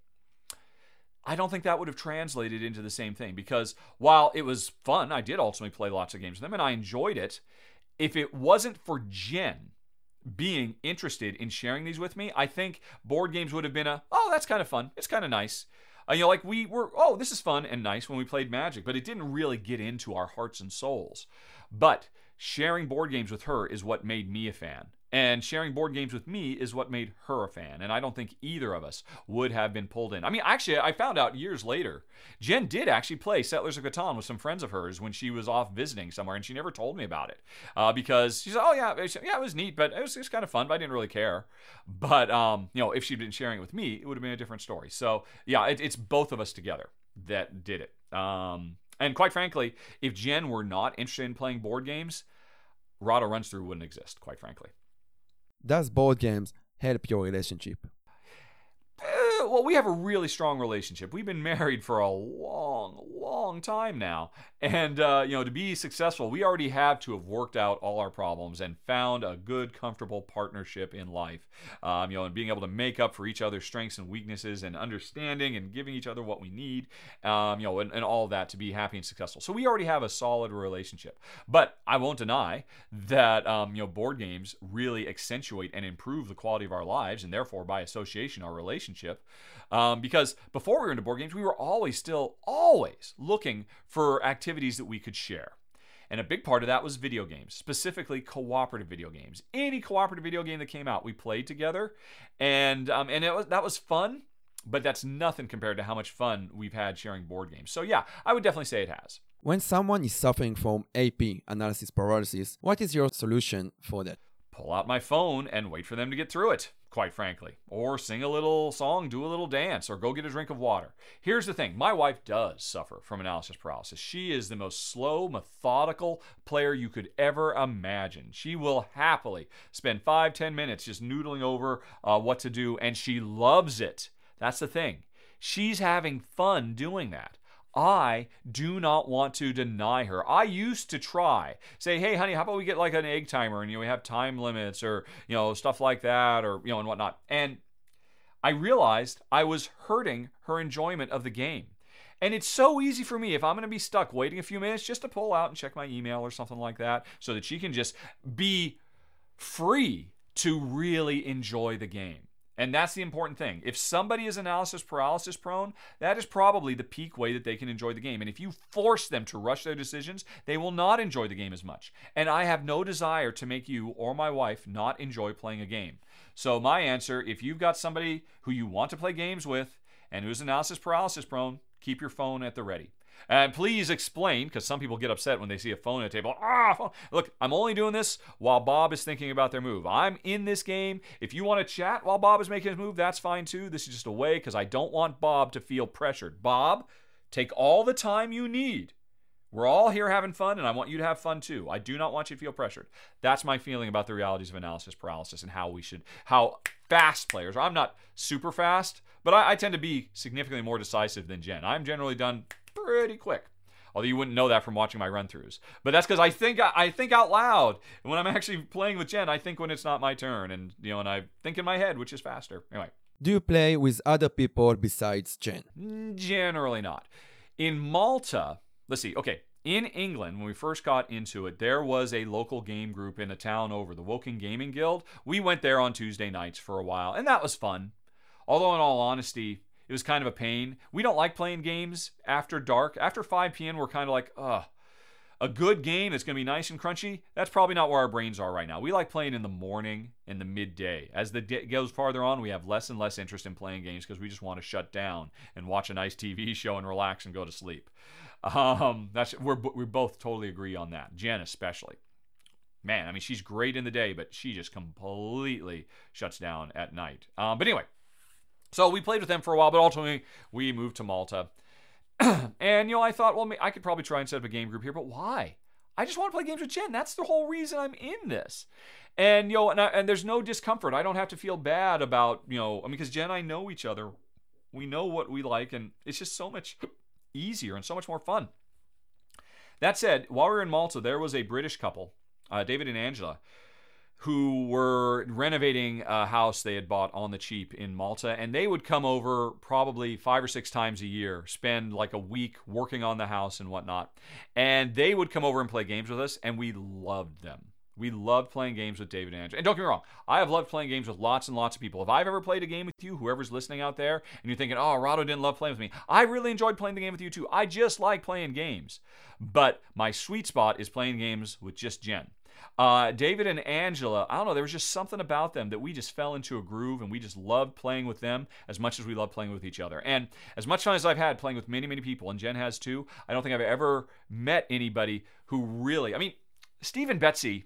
I don't think that would have translated into the same thing, because while it was fun, I did ultimately play lots of games with them and I enjoyed it. If it wasn't for Jen being interested in sharing these with me, I think board games would have been that's kind of fun. It's kind of nice. Like we were, this is fun and nice when we played Magic, but it didn't really get into our hearts and souls. But sharing board games with her is what made me a fan. And sharing board games with me is what made her a fan. And I don't think either of us would have been pulled in. I mean, actually, I found out years later, Jen did actually play Settlers of Catan with some friends of hers when she was off visiting somewhere, and she never told me about it. Because she said, it was neat, but it was kind of fun, but I didn't really care. But, if she'd been sharing it with me, it would have been a different story. So, yeah, it's both of us together that did it. And quite frankly, if Jen were not interested in playing board games, Rahdo Runs Through wouldn't exist, quite frankly. Does board games help your relationship? Well, we have a really strong relationship. We've been married for a long time now. And, to be successful, we already have to have worked out all our problems and found a good, comfortable partnership in life. And being able to make up for each other's strengths and weaknesses and understanding and giving each other what we need, and all of that to be happy and successful. So we already have a solid relationship. But I won't deny that, board games really accentuate and improve the quality of our lives, and therefore, by association, our relationship. Because before we were into board games, we were always looking for activities that we could share. And a big part of that was video games, specifically cooperative video games. Any cooperative video game that came out, we played together. And that was fun, but that's nothing compared to how much fun we've had sharing board games. So yeah, I would definitely say it has. When someone is suffering from AP, analysis paralysis, what is your solution for that? Pull out my phone and wait for them to get through it, quite frankly. Or sing a little song, do a little dance, or go get a drink of water. Here's the thing. My wife does suffer from analysis paralysis. She is the most slow, methodical player you could ever imagine. She will happily spend 5-10 minutes just noodling over what to do, and she loves it. That's the thing. She's having fun doing that. I do not want to deny her. I used to try. Say, hey, honey, how about we get like an egg timer and we have time limits or, stuff like that or, and whatnot. And I realized I was hurting her enjoyment of the game. And it's so easy for me, if I'm going to be stuck waiting a few minutes, just to pull out and check my email or something like that so that she can just be free to really enjoy the game. And that's the important thing. If somebody is analysis paralysis prone, that is probably the peak way that they can enjoy the game. And if you force them to rush their decisions, they will not enjoy the game as much. And I have no desire to make you or my wife not enjoy playing a game. So my answer, if you've got somebody who you want to play games with and who's analysis paralysis prone, keep your phone at the ready. And please explain, because some people get upset when they see a phone at a table. Phone. Look, I'm only doing this while Bob is thinking about their move. I'm in this game. If you want to chat while Bob is making his move, that's fine too. This is just a way, because I don't want Bob to feel pressured. Bob, take all the time you need. We're all here having fun, and I want you to have fun too. I do not want you to feel pressured. That's my feeling about the realities of analysis paralysis and how fast players are. I'm not super fast, but I tend to be significantly more decisive than Jen. I'm generally done pretty quick. Although you wouldn't know that from watching my run-throughs. But that's because I think out loud. And when I'm actually playing with Jen, I think when it's not my turn. And and I think in my head, which is faster. Anyway. Do you play with other people besides Jen? Generally not. In Malta, let's see. Okay, in England, when we first got into it, there was a local game group in a town over, the Woking Gaming Guild. We went there on Tuesday nights for a while, and that was fun. Although, in all honesty, it was kind of a pain. We don't like playing games after dark. After 5 p.m., we're kind of like, a good game that's going to be nice and crunchy, that's probably not where our brains are right now. We like playing in the morning, in the midday. As the day goes farther on, we have less and less interest in playing games because we just want to shut down and watch a nice TV show and relax and go to sleep. We both totally agree on that. Jen especially. Man, I mean, she's great in the day, but she just completely shuts down at night. But anyway, so we played with them for a while, but ultimately we moved to Malta. And, I thought, well, I could probably try and set up a game group here, but why? I just want to play games with Jen. That's the whole reason I'm in this. And, and there's no discomfort. I don't have to feel bad about, because Jen and I know each other. We know what we like, and it's just so much easier and so much more fun. That said, while we were in Malta, there was a British couple, David and Angela, who were renovating a house they had bought on the cheap in Malta, and they would come over probably 5 or 6 times a year, spend like a week working on the house and whatnot, and they would come over and play games with us, and we loved them. We loved playing games with David and Angela. And don't get me wrong, I have loved playing games with lots and lots of people. If I've ever played a game with you, whoever's listening out there, and you're thinking, oh, Rado didn't love playing with me, I really enjoyed playing the game with you too. I just like playing games. But my sweet spot is playing games with just Jen. David and Angela, I don't know, there was just something about them that we just fell into a groove, and we just loved playing with them as much as we loved playing with each other. And as much fun as I've had playing with many, many people, and Jen has too, I don't think I've ever met anybody who really, I mean, Steve and Betsy,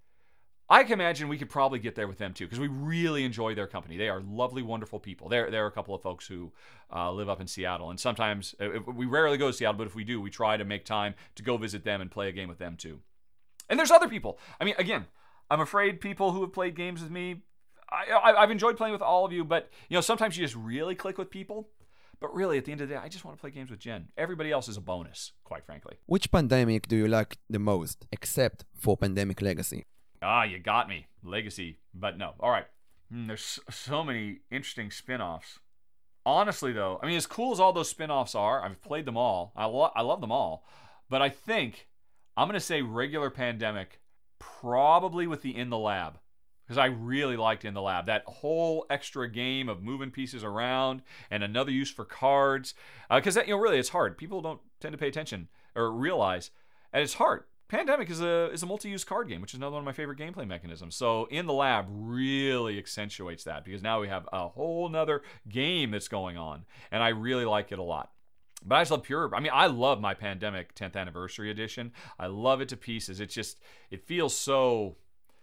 I can imagine we could probably get there with them too, because we really enjoy their company. They are lovely, wonderful people. There are a couple of folks who live up in Seattle, and sometimes, we rarely go to Seattle, but if we do, we try to make time to go visit them and play a game with them too. And there's other people. I mean, again, I'm afraid people who have played games with me, I've enjoyed playing with all of you, but sometimes you just really click with people. But really, at the end of the day, I just want to play games with Jen. Everybody else is a bonus, quite frankly. Which pandemic do you like the most, except for Pandemic Legacy? You got me. Legacy, but no. All right. There's so many interesting spin-offs. Honestly, though, I mean, as cool as all those spin-offs are, I've played them all. I love them all. But I think I'm going to say regular Pandemic, probably with the In the Lab, because I really liked In the Lab. That whole extra game of moving pieces around and another use for cards. Because really, it's hard. People don't tend to pay attention or realize, and it's hard. Pandemic is a multi-use card game, which is another one of my favorite gameplay mechanisms. So In the Lab really accentuates that, because now we have a whole nother game that's going on, and I really like it a lot. But I just love I love my Pandemic 10th Anniversary Edition. I love it to pieces. It feels so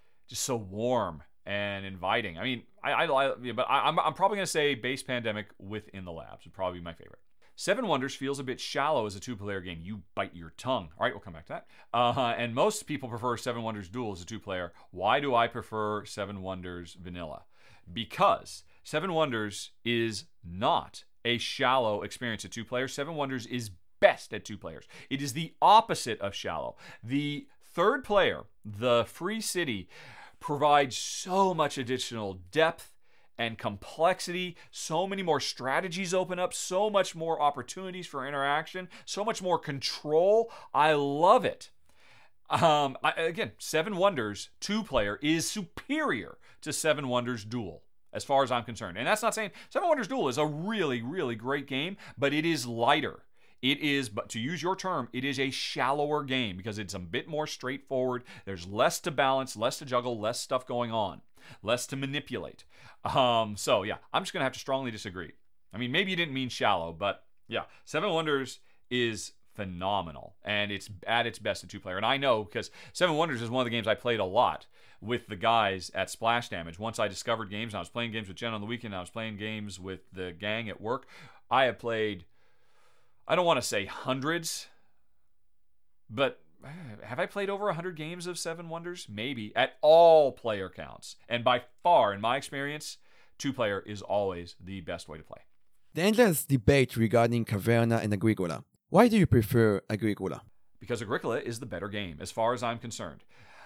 warm and inviting. I mean, I'm probably going to say base Pandemic with In the Labs would probably be my favorite. Seven Wonders feels a bit shallow as a 2-player game. You bite your tongue. All right, we'll come back to that. And most people prefer Seven Wonders Duel as a 2-player. Why do I prefer Seven Wonders Vanilla? Because Seven Wonders is not a shallow experience at 2 players. Seven Wonders is best at 2 players. It is the opposite of shallow. The third player, the Free City, provides so much additional depth and complexity. So many more strategies open up, so much more opportunities for interaction, so much more control. I love it. Again, Seven Wonders 2-player is superior to Seven Wonders Duel, as far as I'm concerned. And that's not saying Seven Wonders Duel is a really, really great game, but it is lighter. It is, but to use your term, it is a shallower game because it's a bit more straightforward. There's less to balance, less to juggle, less stuff going on, less to manipulate. So yeah, I'm just going to have to strongly disagree. I mean, maybe you didn't mean shallow, but yeah, Seven Wonders is phenomenal, and it's at its best at 2-player. And I know because Seven Wonders is one of the games I played a lot with the guys at Splash Damage. Once I discovered games, and I was playing games with Jen on the weekend, I was playing games with the gang at work. I have played, I don't want to say hundreds, but have I played over 100 games of Seven Wonders? Maybe, at all player counts. And by far, in my experience, 2-player is always the best way to play. The endless debate regarding Caverna and Agricola. Why do you prefer Agricola? Because Agricola is the better game, as far as I'm concerned.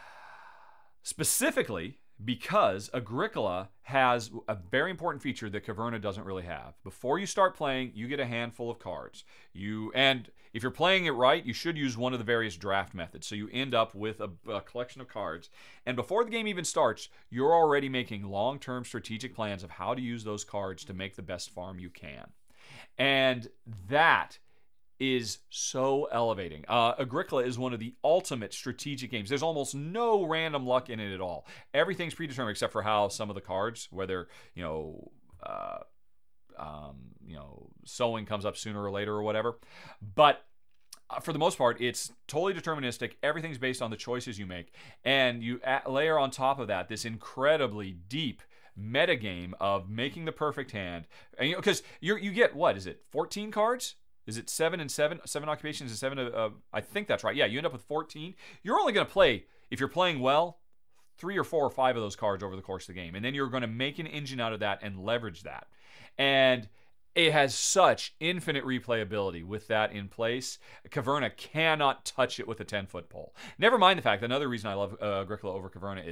Specifically, because Agricola has a very important feature that Caverna doesn't really have. Before you start playing, you get a handful of cards. And if you're playing it right, you should use one of the various draft methods. So you end up with a collection of cards. And before the game even starts, you're already making long-term strategic plans of how to use those cards to make the best farm you can. And that is so elevating. Agricola is one of the ultimate strategic games. There's almost no random luck in it at all. Everything's predetermined except for how some of the cards, whether sowing comes up sooner or later or whatever. But for the most part, it's totally deterministic. Everything's based on the choices you make, and you layer on top of that this incredibly deep metagame of making the perfect hand. And because you get, what is it, 14 cards? Is it 7 and 7? 7 occupations and 7 I think that's right. Yeah, you end up with 14. You're only going to play, if you're playing well, 3 or 4 or 5 of those cards over the course of the game. And then you're going to make an engine out of that and leverage that. And It has such infinite replayability with that in place. Caverna cannot touch it with a 10-foot pole. Never mind the fact that another reason I love Agricola over Caverna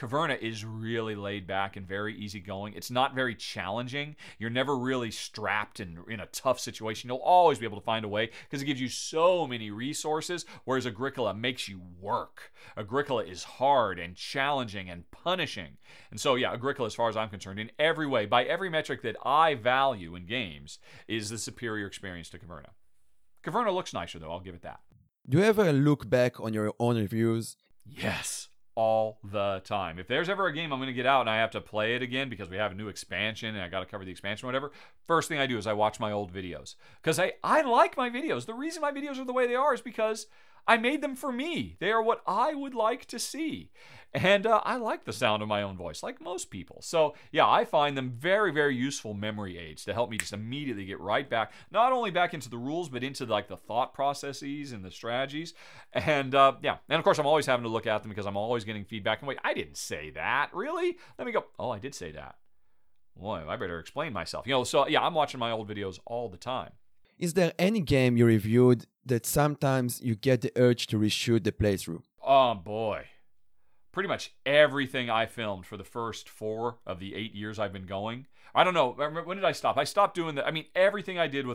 is really laid back and very easygoing. It's not very challenging. You're never really strapped in a tough situation. You'll always be able to find a way because it gives you so many resources, whereas Agricola makes you work. Agricola is hard and challenging and punishing. And so, yeah, Agricola, as far as I'm concerned, in every way, by every metric that I value in games, is the superior experience to Caverna. Caverna looks nicer, though, I'll give it that. Do you ever look back on your own reviews? Yes, all the time. If there's ever a game I'm going to get out and I have to play it again because we have a new expansion and I got to cover the expansion or whatever, first thing I do is I watch my old videos. Because I like my videos. The reason my videos are the way they are is because I made them for me. They are what I would like to see. And I like the sound of my own voice, like most people. So, yeah, I find them very, very useful memory aids to help me just immediately get right back, not only back into the rules, but into like the thought processes and the strategies. And, yeah, and of course, I'm always having to look at them because I'm always getting feedback. And wait, I didn't say that, really? Let me go, oh, I did say that. Boy, I better explain myself. So, yeah, I'm watching my old videos all the time. Is there any game you reviewed that sometimes you get the urge to reshoot the playthrough? Oh, boy. Pretty much everything I filmed for the first 4 of the 8 years I've been going. I don't know. When did I stop? I stopped doing that. I mean, everything I did with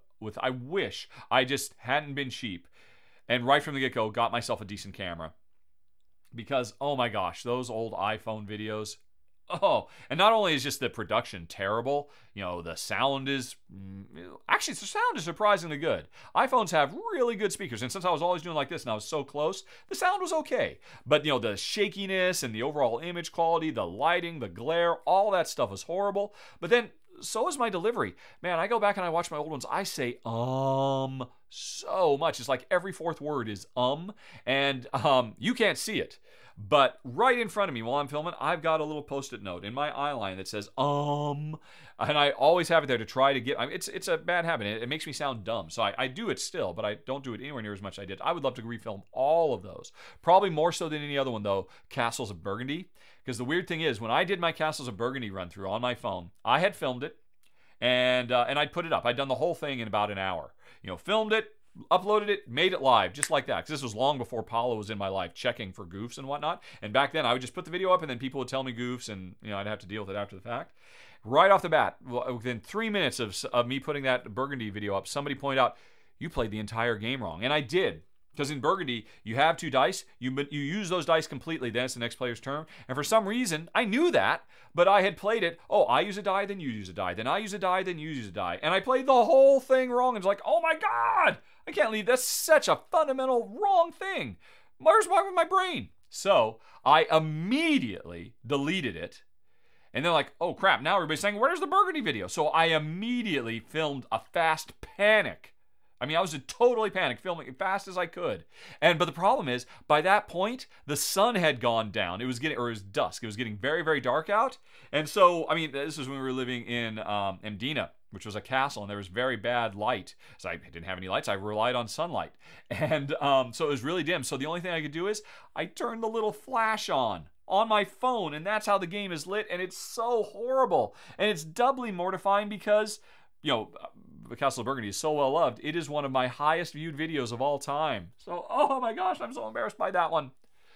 I wish I just hadn't been cheap and right from the get-go got myself a decent camera. Because, oh my gosh, those old iPhone videos. Oh, and not only is just the production terrible, the sound is, actually the sound is surprisingly good. iPhones have really good speakers, and since I was always doing like this and I was so close, the sound was okay. But, the shakiness and the overall image quality, the lighting, the glare, all that stuff was horrible. But then, so is my delivery. Man, I go back and I watch my old ones, I say, so much. It's like every 4th word is, and you can't see it. But right in front of me while I'm filming, I've got a little post-it note in my eye line that says, and I always have it there to try to get, it's a bad habit. It makes me sound dumb. So I do it still, but I don't do it anywhere near as much as I did. I would love to refilm all of those. Probably more so than any other one, though, Castles of Burgundy. Because the weird thing is, when I did my Castles of Burgundy run-through on my phone, I had filmed it, and I'd put it up. I'd done the whole thing in about an hour. Filmed it, uploaded it, made it live, just like that. Because this was long before Paolo was in my life checking for goofs and whatnot. And back then, I would just put the video up, and then people would tell me goofs, and I'd have to deal with it after the fact. Right off the bat, within 3 minutes of me putting that Burgundy video up, somebody pointed out, you played the entire game wrong. And I did. Because in Burgundy, you have 2 dice, you use those dice completely, then it's the next player's turn. And for some reason, I knew that, but I had played it, I use a die, then you use a die, then I use a die, then you use a die. And I played the whole thing wrong, and it's like, oh my God, I can't leave, that's such a fundamental wrong thing. Where's my brain? So I immediately deleted it. And they're like, oh crap, now everybody's saying, where's the Burgundy video? So I immediately filmed a fast panic. I was totally panicked, filming as fast as I could. But the problem is, by that point, the sun had gone down. It was dusk. It was getting very, very dark out. And so, this was when we were living in Mdina, which was a castle, and there was very bad light. So I didn't have any lights. I relied on sunlight. And so it was really dim. So the only thing I could do is I turned the little flash on my phone, and that's how the game is lit. And it's so horrible. And it's doubly mortifying because, the Castle of Burgundy is so well loved. It is one of my highest viewed videos of all time. So, oh my gosh, I'm so embarrassed by that one.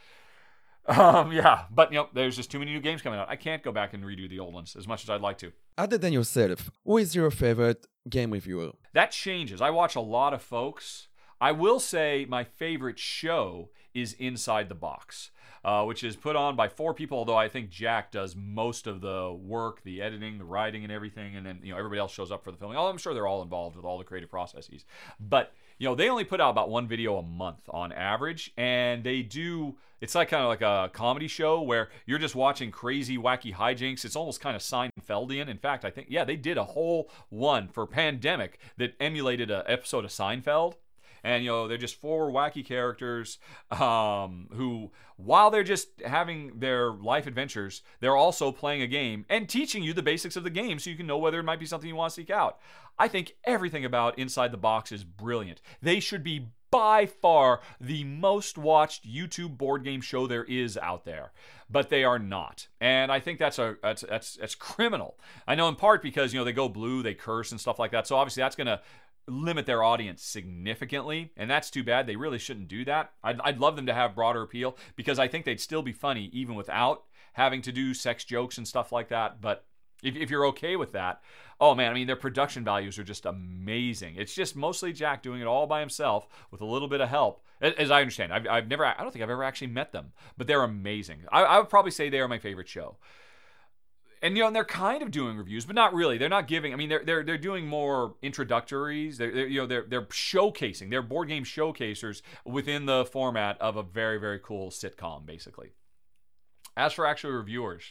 Yeah, but there's just too many new games coming out. I can't go back and redo the old ones as much as I'd like to. Other than yourself, who is your favorite game reviewer? That changes. I watch a lot of folks. I will say my favorite show is Inside the Box, which is put on by 4 people, although I think Jack does most of the work, the editing, the writing, and everything, and then everybody else shows up for the filming. I'm sure they're all involved with all the creative processes. But they only put out about 1 video a month on average, and they do, it's like kind of like a comedy show where you're just watching crazy, wacky hijinks. It's almost kind of Seinfeldian. In fact, I think, they did a whole one for Pandemic that emulated an episode of Seinfeld. And, they're just 4 wacky characters who, while they're just having their life adventures, they're also playing a game and teaching you the basics of the game so you can know whether it might be something you want to seek out. I think everything about Inside the Box is brilliant. They should be by far the most watched YouTube board game show there is out there, but they are not, and I think that's criminal. I know in part because they go blue, they curse and stuff like that, so obviously that's gonna limit their audience significantly, and that's too bad. They really shouldn't do that. I'd love them to have broader appeal because I think they'd still be funny even without having to do sex jokes and stuff like that. But if you're okay with that, oh man, I mean, their production values are just amazing. It's just mostly Jack doing it all by himself with a little bit of help, as I understand. I don't think I've ever actually met them, but they're amazing. I would probably say they are my favorite show. And and they're kind of doing reviews, but not really. They're not giving. I mean, they're doing more introductories. They're showcasing. They're board game showcasers within the format of a very, very cool sitcom, basically. As for actual reviewers,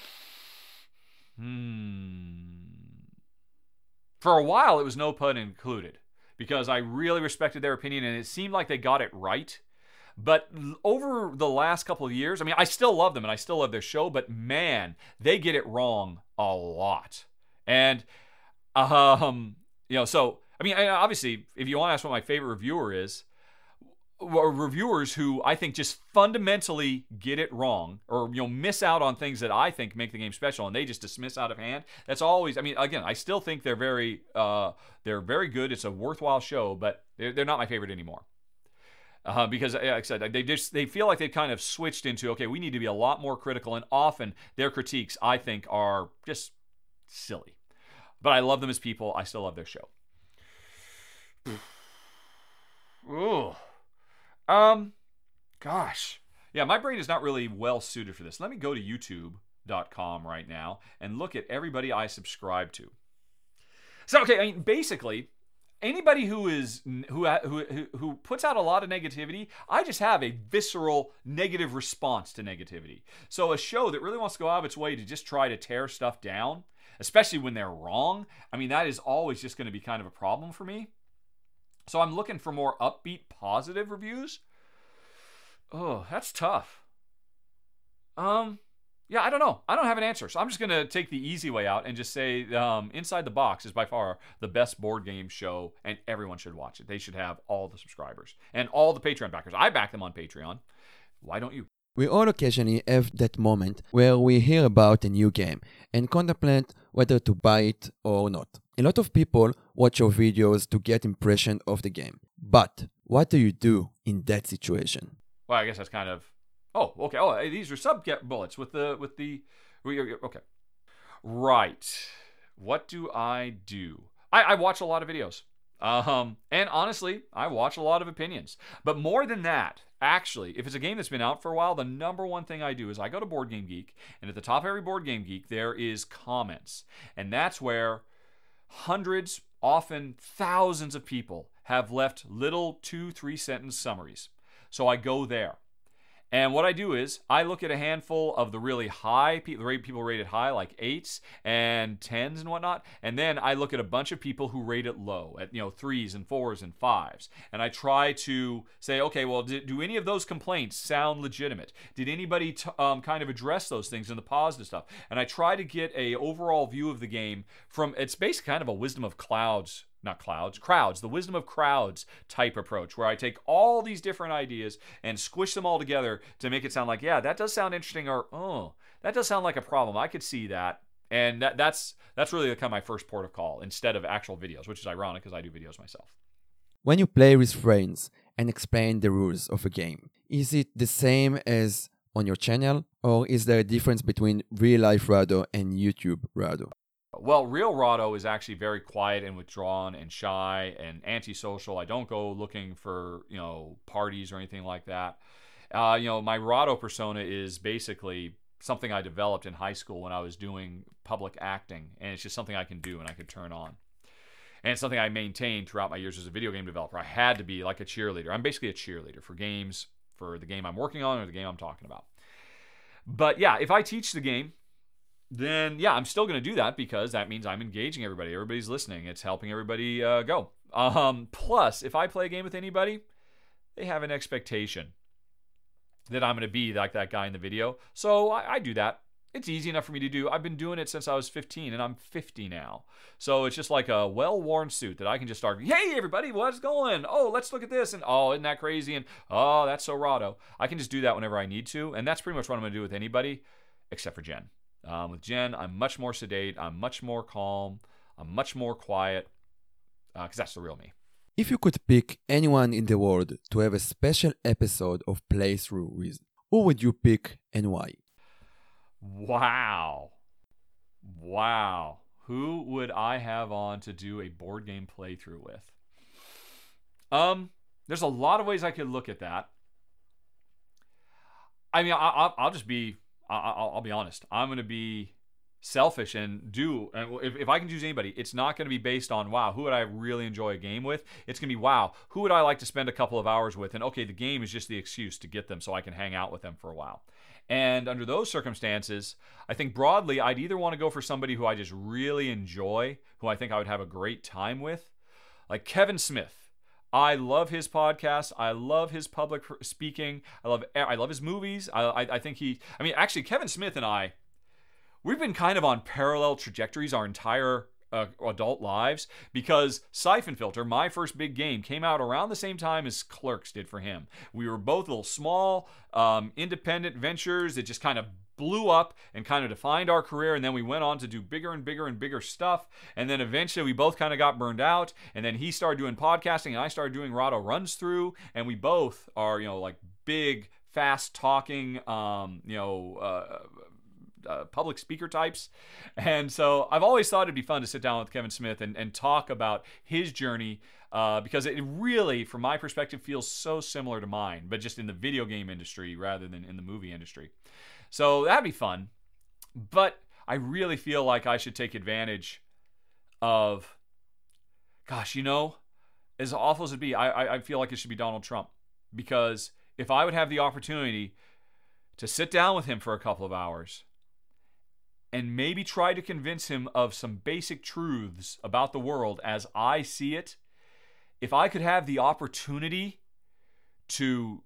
for a while, it was no pun included because I really respected their opinion and it seemed like they got it right. But over the last couple of years, I mean, I still love them and I still love their show, but man, they get it wrong a lot. And, so, I mean, obviously, if you want to ask what my favorite reviewer is, reviewers who I think just fundamentally get it wrong or miss out on things that I think make the game special and they just dismiss out of hand. That's always, I mean, again, I still think they're very good. It's a worthwhile show, but they're not my favorite anymore. Because, like I said, they feel like they've kind of switched into, okay, we need to be a lot more critical, and often their critiques, I think, are just silly. But I love them as people. I still love their show. Ooh. Gosh. Yeah, my brain is not really well suited for this. Let me go to youtube.com right now and look at everybody I subscribe to. So, okay, I mean, basically, anybody who puts out a lot of negativity, I just have a visceral negative response to negativity. So a show that really wants to go out of its way to just try to tear stuff down, especially when they're wrong, I mean, that is always just going to be kind of a problem for me. So I'm looking for more upbeat, positive reviews. Oh, that's tough. Yeah, I don't know. I don't have an answer. So I'm just going to take the easy way out and just say Inside the Box is by far the best board game show, and everyone should watch it. They should have all the subscribers and all the Patreon backers. I back them on Patreon. Why don't you? We all occasionally have that moment where we hear about a new game and contemplate whether to buy it or not. A lot of people watch your videos to get impression of the game. But what do you do in that situation? Well, I guess that's kind of... Oh, okay. Oh, these are sub-bullets with the... Okay. Right. What do I do? I watch a lot of videos. And honestly, I watch a lot of opinions. But more than that, actually, if it's a game that's been out for a while, the number one thing I do is I go to Board Game Geek, and at the top of every Board Game Geek, there is comments. And that's where hundreds, often thousands of people have left little 2-3 sentence summaries. So I go there. And what I do is I look at a handful of the really high, people rated high, like 8s and 10s and whatnot. And then I look at a bunch of people who rate it low at 3s and 4s and 5s. And I try to say, okay, well, do any of those complaints sound legitimate? Did anybody kind of address those things in the positive stuff? And I try to get a overall view of the game from, it's basically kind of a wisdom of crowds, the wisdom of crowds type approach, where I take all these different ideas and squish them all together to make it sound like, yeah, that does sound interesting, or, oh, that does sound like a problem. I could see that. And that's really kind of my first port of call instead of actual videos, which is ironic because I do videos myself. When you play with friends and explain the rules of a game, is it the same as on your channel, or is there a difference between real-life Rahdo and YouTube Rahdo? Well, real Rahdo is actually very quiet and withdrawn and shy and antisocial. I don't go looking for, parties or anything like that. My Rahdo persona is basically something I developed in high school when I was doing public acting, and it's just something I can do and I can turn on. And it's something I maintained throughout my years as a video game developer. I had to be like a cheerleader. I'm basically a cheerleader for games, for the game I'm working on or the game I'm talking about. But yeah, if I teach the game, then yeah, I'm still going to do that because that means I'm engaging everybody. Everybody's listening. It's helping everybody go. Plus, if I play a game with anybody, they have an expectation that I'm going to be like that guy in the video. So I do that. it's easy enough for me to do. I've been doing it since I was 15, and I'm 50 now. So it's just like a well-worn suit that I can just start, hey, everybody, what's going? Oh, let's look at this. And, oh, isn't that crazy? And, oh, that's so rado. I can just do that whenever I need to. And that's pretty much what I'm going to do with anybody except for Jen. With Jen, I'm much more sedate. I'm much more calm. I'm much more quiet because that's the real me. If you could pick anyone in the world to have a special episode of Playthrough with, who would you pick and why? Wow. Who would I have on to do a board game playthrough with? There's a lot of ways I could look at that. I mean, I'll just be, I'll be honest. I'm going to be selfish and if I can choose anybody, it's not going to be based on, wow, who would I really enjoy a game with? It's going to be, wow, who would I like to spend a couple of hours with? And okay, the game is just the excuse to get them so I can hang out with them for a while. And under those circumstances, I think broadly, I'd either want to go for somebody who I just really enjoy, who I think I would have a great time with, like Kevin Smith. I love his podcast. I love his public speaking. I love his movies. I think actually, Kevin Smith and I, we've been kind of on parallel trajectories our entire adult lives, because Siphon Filter, my first big game, came out around the same time as Clerks did for him. We were both little small, independent ventures that just kind of blew up and kind of defined our career, and then we went on to do bigger and bigger and bigger stuff, and then eventually we both kind of got burned out, and then he started doing podcasting and I started doing Rahdo Runs Through, and we both are, like big, fast talking, public speaker types. And so I've always thought it'd be fun to sit down with Kevin Smith and talk about his journey, because it really, from my perspective, feels so similar to mine, but just in the video game industry rather than in the movie industry. So that'd be fun. But I really feel like I should take advantage of, gosh, as awful as it'd be, I feel like it should be Donald Trump. Because if I would have the opportunity to sit down with him for a couple of hours and maybe try to convince him of some basic truths about the world as I see it, if I could have the opportunity to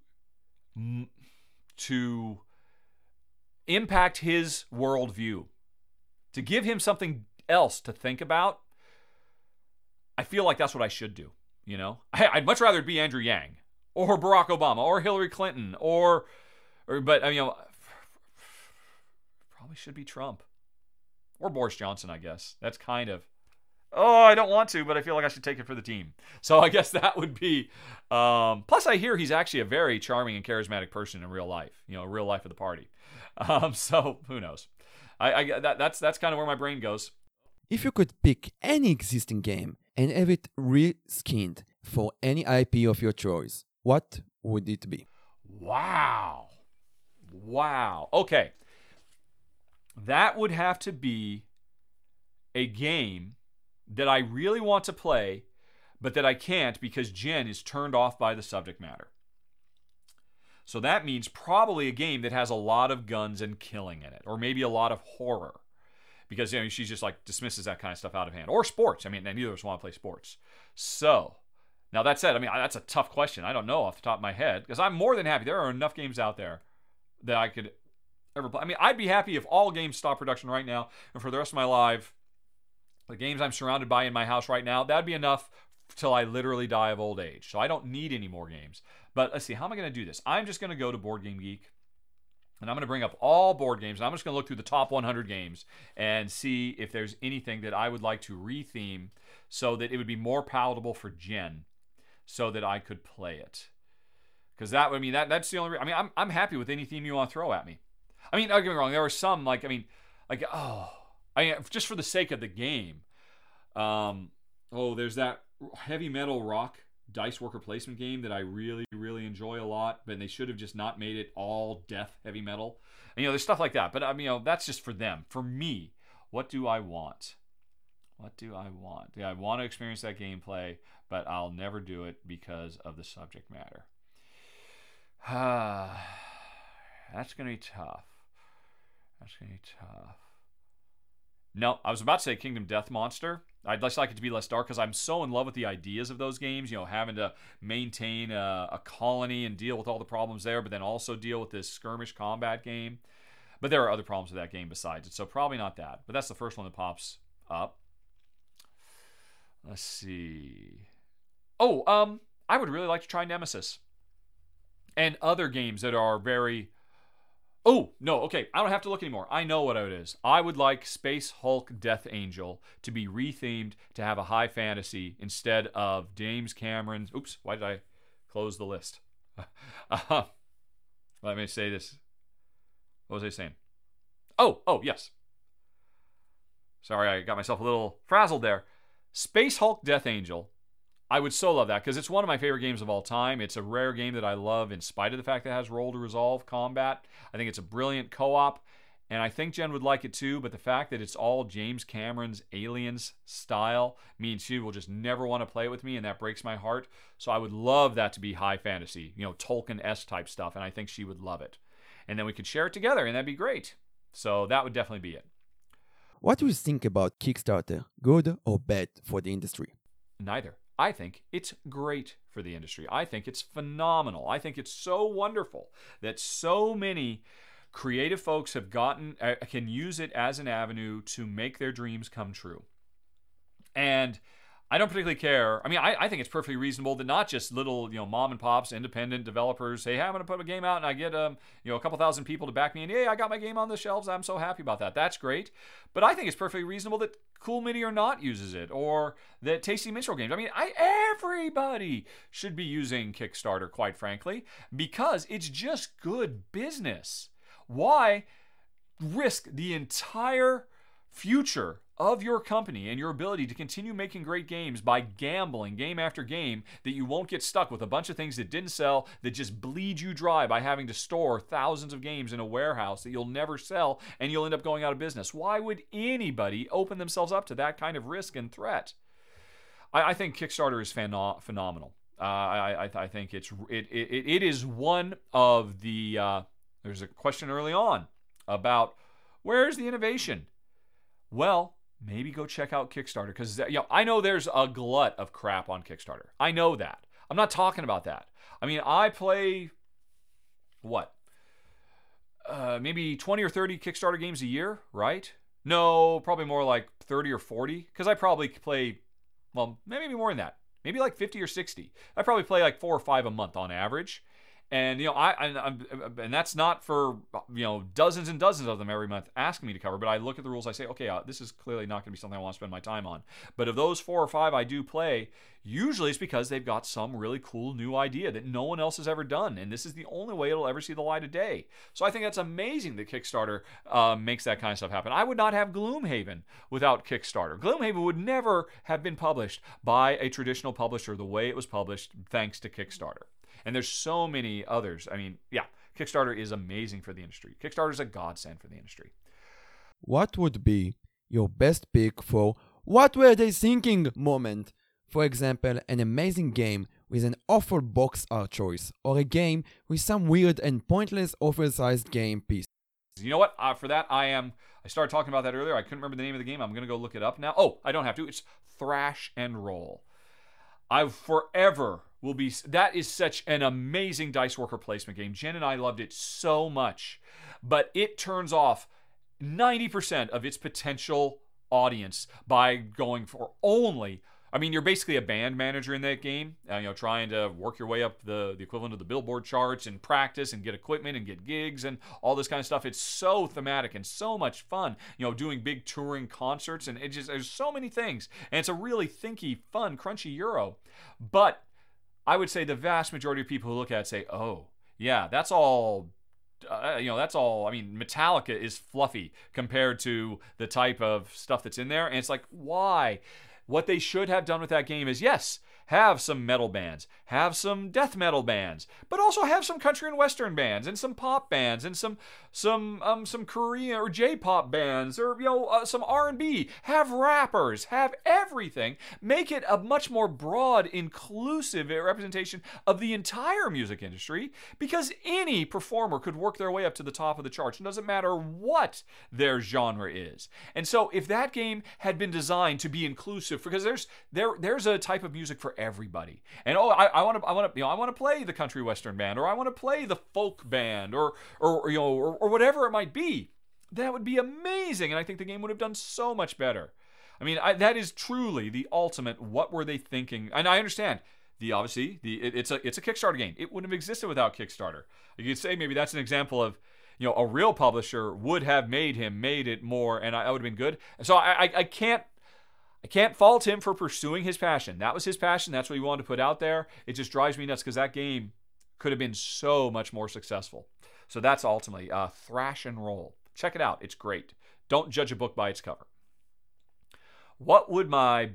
impact his worldview, to give him something else to think about, I feel like that's what I should do. I'd much rather it be Andrew Yang or Barack Obama or Hillary Clinton but probably should be Trump. Or Boris Johnson, I guess. That's kind of, I don't want to, but I feel like I should take it for the team. So I guess that would be, plus I hear he's actually a very charming and charismatic person in real life, real life of the party. So who knows? That's kind of where my brain goes. If you could pick any existing game and have it reskinned for any IP of your choice, what would it be? Wow. Okay. That would have to be a game that I really want to play, but that I can't because Jen is turned off by the subject matter. So that means probably a game that has a lot of guns and killing in it, or maybe a lot of horror, because she's just like dismisses that kind of stuff out of hand. Or sports. And neither of us want to play sports. So now that said, that's a tough question. I don't know off the top of my head, because I'm more than happy. There are enough games out there that I could ever play. I'd be happy if all games stopped production right now, and for the rest of my life, the games I'm surrounded by in my house right now, that'd be enough till I literally die of old age. So I don't need any more games. But let's see, how am I going to do this? I'm just going to go to Board Game Geek, and I'm going to bring up all board games, and I'm just going to look through the top 100 games and see if there's anything that I would like to retheme so that it would be more palatable for Jen, so that I could play it. Because that's the only reason. I'm happy with any theme you want to throw at me. Don't get me wrong. There are some just for the sake of the game. There's that Heavy Metal Rock dice worker placement game that I really, really enjoy a lot, but they should have just not made it all death heavy metal. And, there's stuff like that, but that's just for them. For me, what do I want? Yeah, I want to experience that gameplay, but I'll never do it because of the subject matter. That's going to be tough. No, I was about to say Kingdom Death Monster. I'd just like it to be less dark because I'm so in love with the ideas of those games, having to maintain a colony and deal with all the problems there, but then also deal with this skirmish combat game. But there are other problems with that game besides it, so probably not that. But that's the first one that pops up. Let's see. Oh, I would really like to try Nemesis. And other games that are very... Oh, no, okay, I don't have to look anymore. I know what it is. I would like Space Hulk Death Angel to be rethemed to have a high fantasy instead of James Cameron's... Oops, why did I close the list? Let me say this. What was I saying? Oh, yes. Sorry, I got myself a little frazzled there. Space Hulk Death Angel. I would so love that because it's one of my favorite games of all time. It's a rare game that I love in spite of the fact that it has roll to resolve combat. I think it's a brilliant co-op, and I think Jen would like it too, but the fact that it's all James Cameron's Aliens style means she will just never want to play it with me, and that breaks my heart. So I would love that to be high fantasy, Tolkien-esque type stuff, and I think she would love it. And then we could share it together, and that'd be great. So that would definitely be it. What do you think about Kickstarter? Good or bad for the industry? Neither. I think it's great for the industry. I think it's phenomenal. I think it's so wonderful that so many creative folks can use it as an avenue to make their dreams come true. And I don't particularly care. I mean, I think it's perfectly reasonable that not just little, mom and pops, independent developers say, hey, I'm going to put a game out and I get, a couple thousand people to back me and, hey, I got my game on the shelves. I'm so happy about that. That's great. But I think it's perfectly reasonable that Cool Mini or Not uses it, or that Tasty Minstrel Games. I mean, everybody should be using Kickstarter, quite frankly, because it's just good business. Why risk the entire future of your company and your ability to continue making great games by gambling game after game that you won't get stuck with a bunch of things that didn't sell, that just bleed you dry by having to store thousands of games in a warehouse that you'll never sell and you'll end up going out of business? Why would anybody open themselves up to that kind of risk and threat? I think Kickstarter is phenomenal. I think it is one of the... there's a question early on about where's the innovation? Well, maybe go check out Kickstarter because I know there's a glut of crap on Kickstarter. I know that. I'm not talking about that. I mean, I play maybe 20 or 30 Kickstarter games a year, right? No, probably more like 30 or 40 because I probably play, maybe more than that. Maybe like 50 or 60. I probably play like 4 or 5 a month on average. And and that's not for dozens and dozens of them every month asking me to cover. But I look at the rules. I say, okay, this is clearly not going to be something I want to spend my time on. But of those 4 or 5 I do play, usually it's because they've got some really cool new idea that no one else has ever done, and this is the only way it'll ever see the light of day. So I think that's amazing that Kickstarter makes that kind of stuff happen. I would not have Gloomhaven without Kickstarter. Gloomhaven would never have been published by a traditional publisher the way it was published thanks to Kickstarter. And there's so many others. I mean, Kickstarter is amazing for the industry. Kickstarter is a godsend for the industry. What would be your best pick for what were they thinking moment? For example, an amazing game with an awful box art choice, or a game with some weird and pointless oversized game piece. You know what? For that, I started talking about that earlier. I couldn't remember the name of the game. I'm going to go look it up now. Oh, I don't have to. It's Thrash and Roll. I forever will be... That is such an amazing dice worker placement game. Jen and I loved it so much. But it turns off 90% of its potential audience by going for only... I mean, you're basically a band manager in that game, trying to work your way up the equivalent of the Billboard charts and practice and get equipment and get gigs and all this kind of stuff. It's so thematic and so much fun, doing big touring concerts, and there's so many things. And it's a really thinky, fun, crunchy Euro. But I would say the vast majority of people who look at it say, oh, yeah, that's all... that's all. I mean, Metallica is fluffy compared to the type of stuff that's in there. And it's like, why? What they should have done with that game is, yes, have some metal bands, have some death metal bands, but also have some country and western bands and some pop bands and some Korean or J-pop bands or some R&B. Have rappers, have everything. Make it a much more broad, inclusive representation of the entire music industry, because any performer could work their way up to the top of the charts. It doesn't matter what their genre is. And so if that game had been designed to be inclusive, because there's a type of music for everybody. And I want to play the country western band, or I want to play the folk band, or whatever it might be. That would be amazing, and I think the game would have done so much better. I mean, that is truly the ultimate. What were they thinking? And I understand it's a Kickstarter game. It wouldn't have existed without Kickstarter. You could say maybe that's an example of, a real publisher would have made it more, and I would have been good. So I can't fault him for pursuing his passion. That was his passion. That's what he wanted to put out there. It just drives me nuts because that game could have been so much more successful. So that's ultimately Thrash and Roll. Check it out. It's great. Don't judge a book by its cover. What would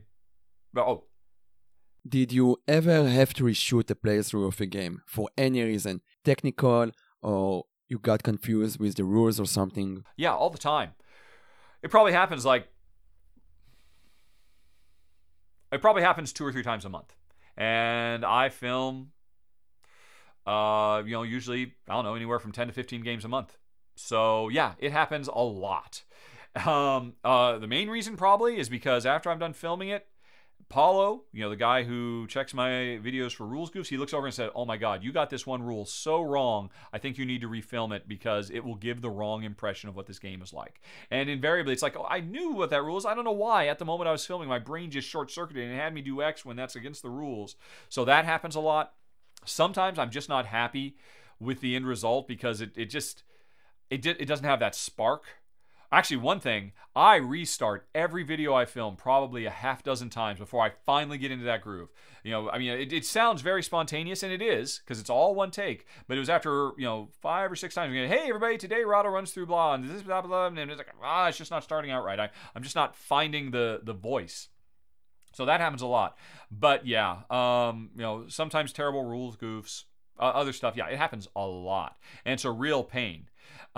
Did you ever have to reshoot a playthrough of a game for any reason? Technical, or you got confused with the rules or something? Yeah, all the time. It probably happens 2 or 3 times a month. And I film, usually, I don't know, anywhere from 10 to 15 games a month. So yeah, it happens a lot. The main reason probably is because after I'm done filming it, Paulo, the guy who checks my videos for rules goofs, he looks over and said, "Oh my God, you got this one rule so wrong. I think you need to refilm it because it will give the wrong impression of what this game is like." And invariably, it's like, oh, I knew what that rule is. I don't know why. At the moment I was filming, my brain just short-circuited and it had me do X when that's against the rules. So that happens a lot. Sometimes I'm just not happy with the end result because it doesn't have that spark. Actually, one thing, I restart every video I film probably a half dozen times before I finally get into that groove. It sounds very spontaneous, and it is, because it's all one take. But it was after, 5 or 6 times, hey, everybody, today Rahdo runs through blah, and this blah, blah, and it's like, it's just not starting out right. I'm just not finding the voice. So that happens a lot. But yeah, sometimes terrible rules, goofs, other stuff. Yeah, it happens a lot. And it's a real pain.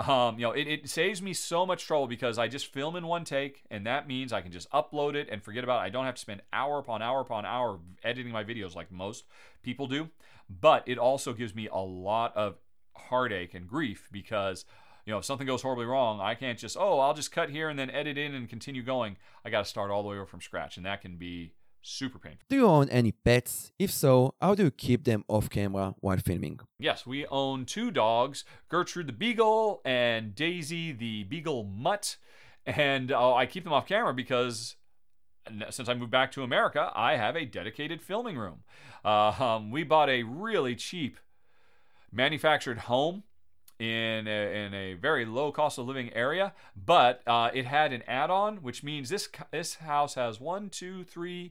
It saves me so much trouble because I just film in one take, and that means I can just upload it and forget about it. I don't have to spend hour upon hour upon hour editing my videos like most people do. But it also gives me a lot of heartache and grief because, if something goes horribly wrong, I can't just, I'll just cut here and then edit in and continue going. I got to start all the way over from scratch, and that can be super painful. Do you own any pets? If so, how do you keep them off camera while filming? Yes, we own 2 dogs, Gertrude the Beagle and Daisy the Beagle Mutt. And I keep them off camera because since I moved back to America, I have a dedicated filming room. We bought a really cheap manufactured home in a very low cost of living area, but it had an add-on, which means this house has 1, 2, 3,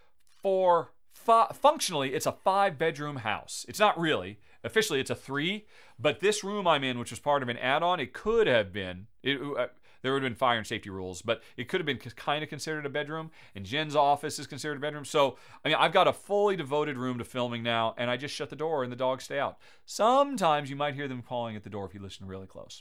4, 5. Functionally, it's a 5-bedroom house. It's not really. Officially, it's a 3. But this room I'm in, which was part of an add-on, it could have been. There would have been fire and safety rules, but it could have been kind of considered a bedroom. And Jen's office is considered a bedroom. So, I've got a fully devoted room to filming now, and I just shut the door and the dogs stay out. Sometimes you might hear them calling at the door if you listen really close.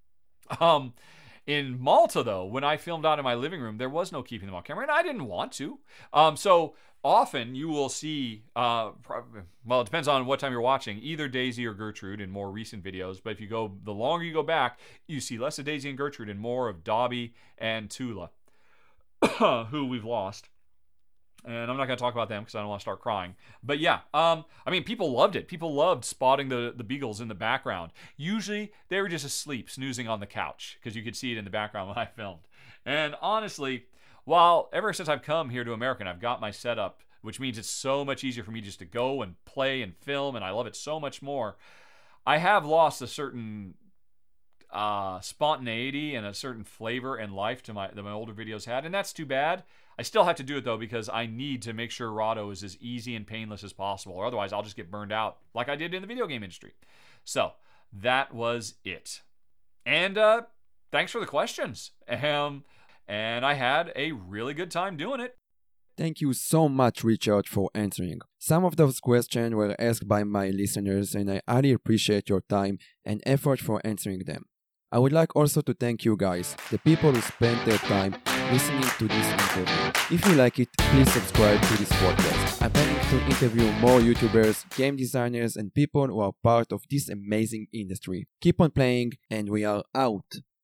In Malta, though, when I filmed out in my living room, there was no keeping them on camera, and I didn't want to. So often you will see, it depends on what time you're watching, either Daisy or Gertrude in more recent videos. But the longer you go back, you see less of Daisy and Gertrude and more of Dobby and Tula, who we've lost. And I'm not going to talk about them because I don't want to start crying. But yeah, people loved it. People loved spotting the beagles in the background. Usually, they were just asleep, snoozing on the couch, because you could see it in the background when I filmed. And honestly, ever since I've come here to America and I've got my setup, which means it's so much easier for me just to go and play and film, and I love it so much more, I have lost a certain spontaneity and a certain flavor and life that my older videos had, and that's too bad. I still have to do it, though, because I need to make sure Rahdo is as easy and painless as possible, or otherwise I'll just get burned out like I did in the video game industry. So that was it. And thanks for the questions. And I had a really good time doing it. Thank you so much, Richard, for answering. Some of those questions were asked by my listeners, and I highly appreciate your time and effort for answering them. I would like also to thank you guys, the people who spent their time listening to this interview. If you like it, please subscribe to this podcast. I'm planning to interview more YouTubers, game designers, and people who are part of this amazing industry. Keep on playing, and we are out.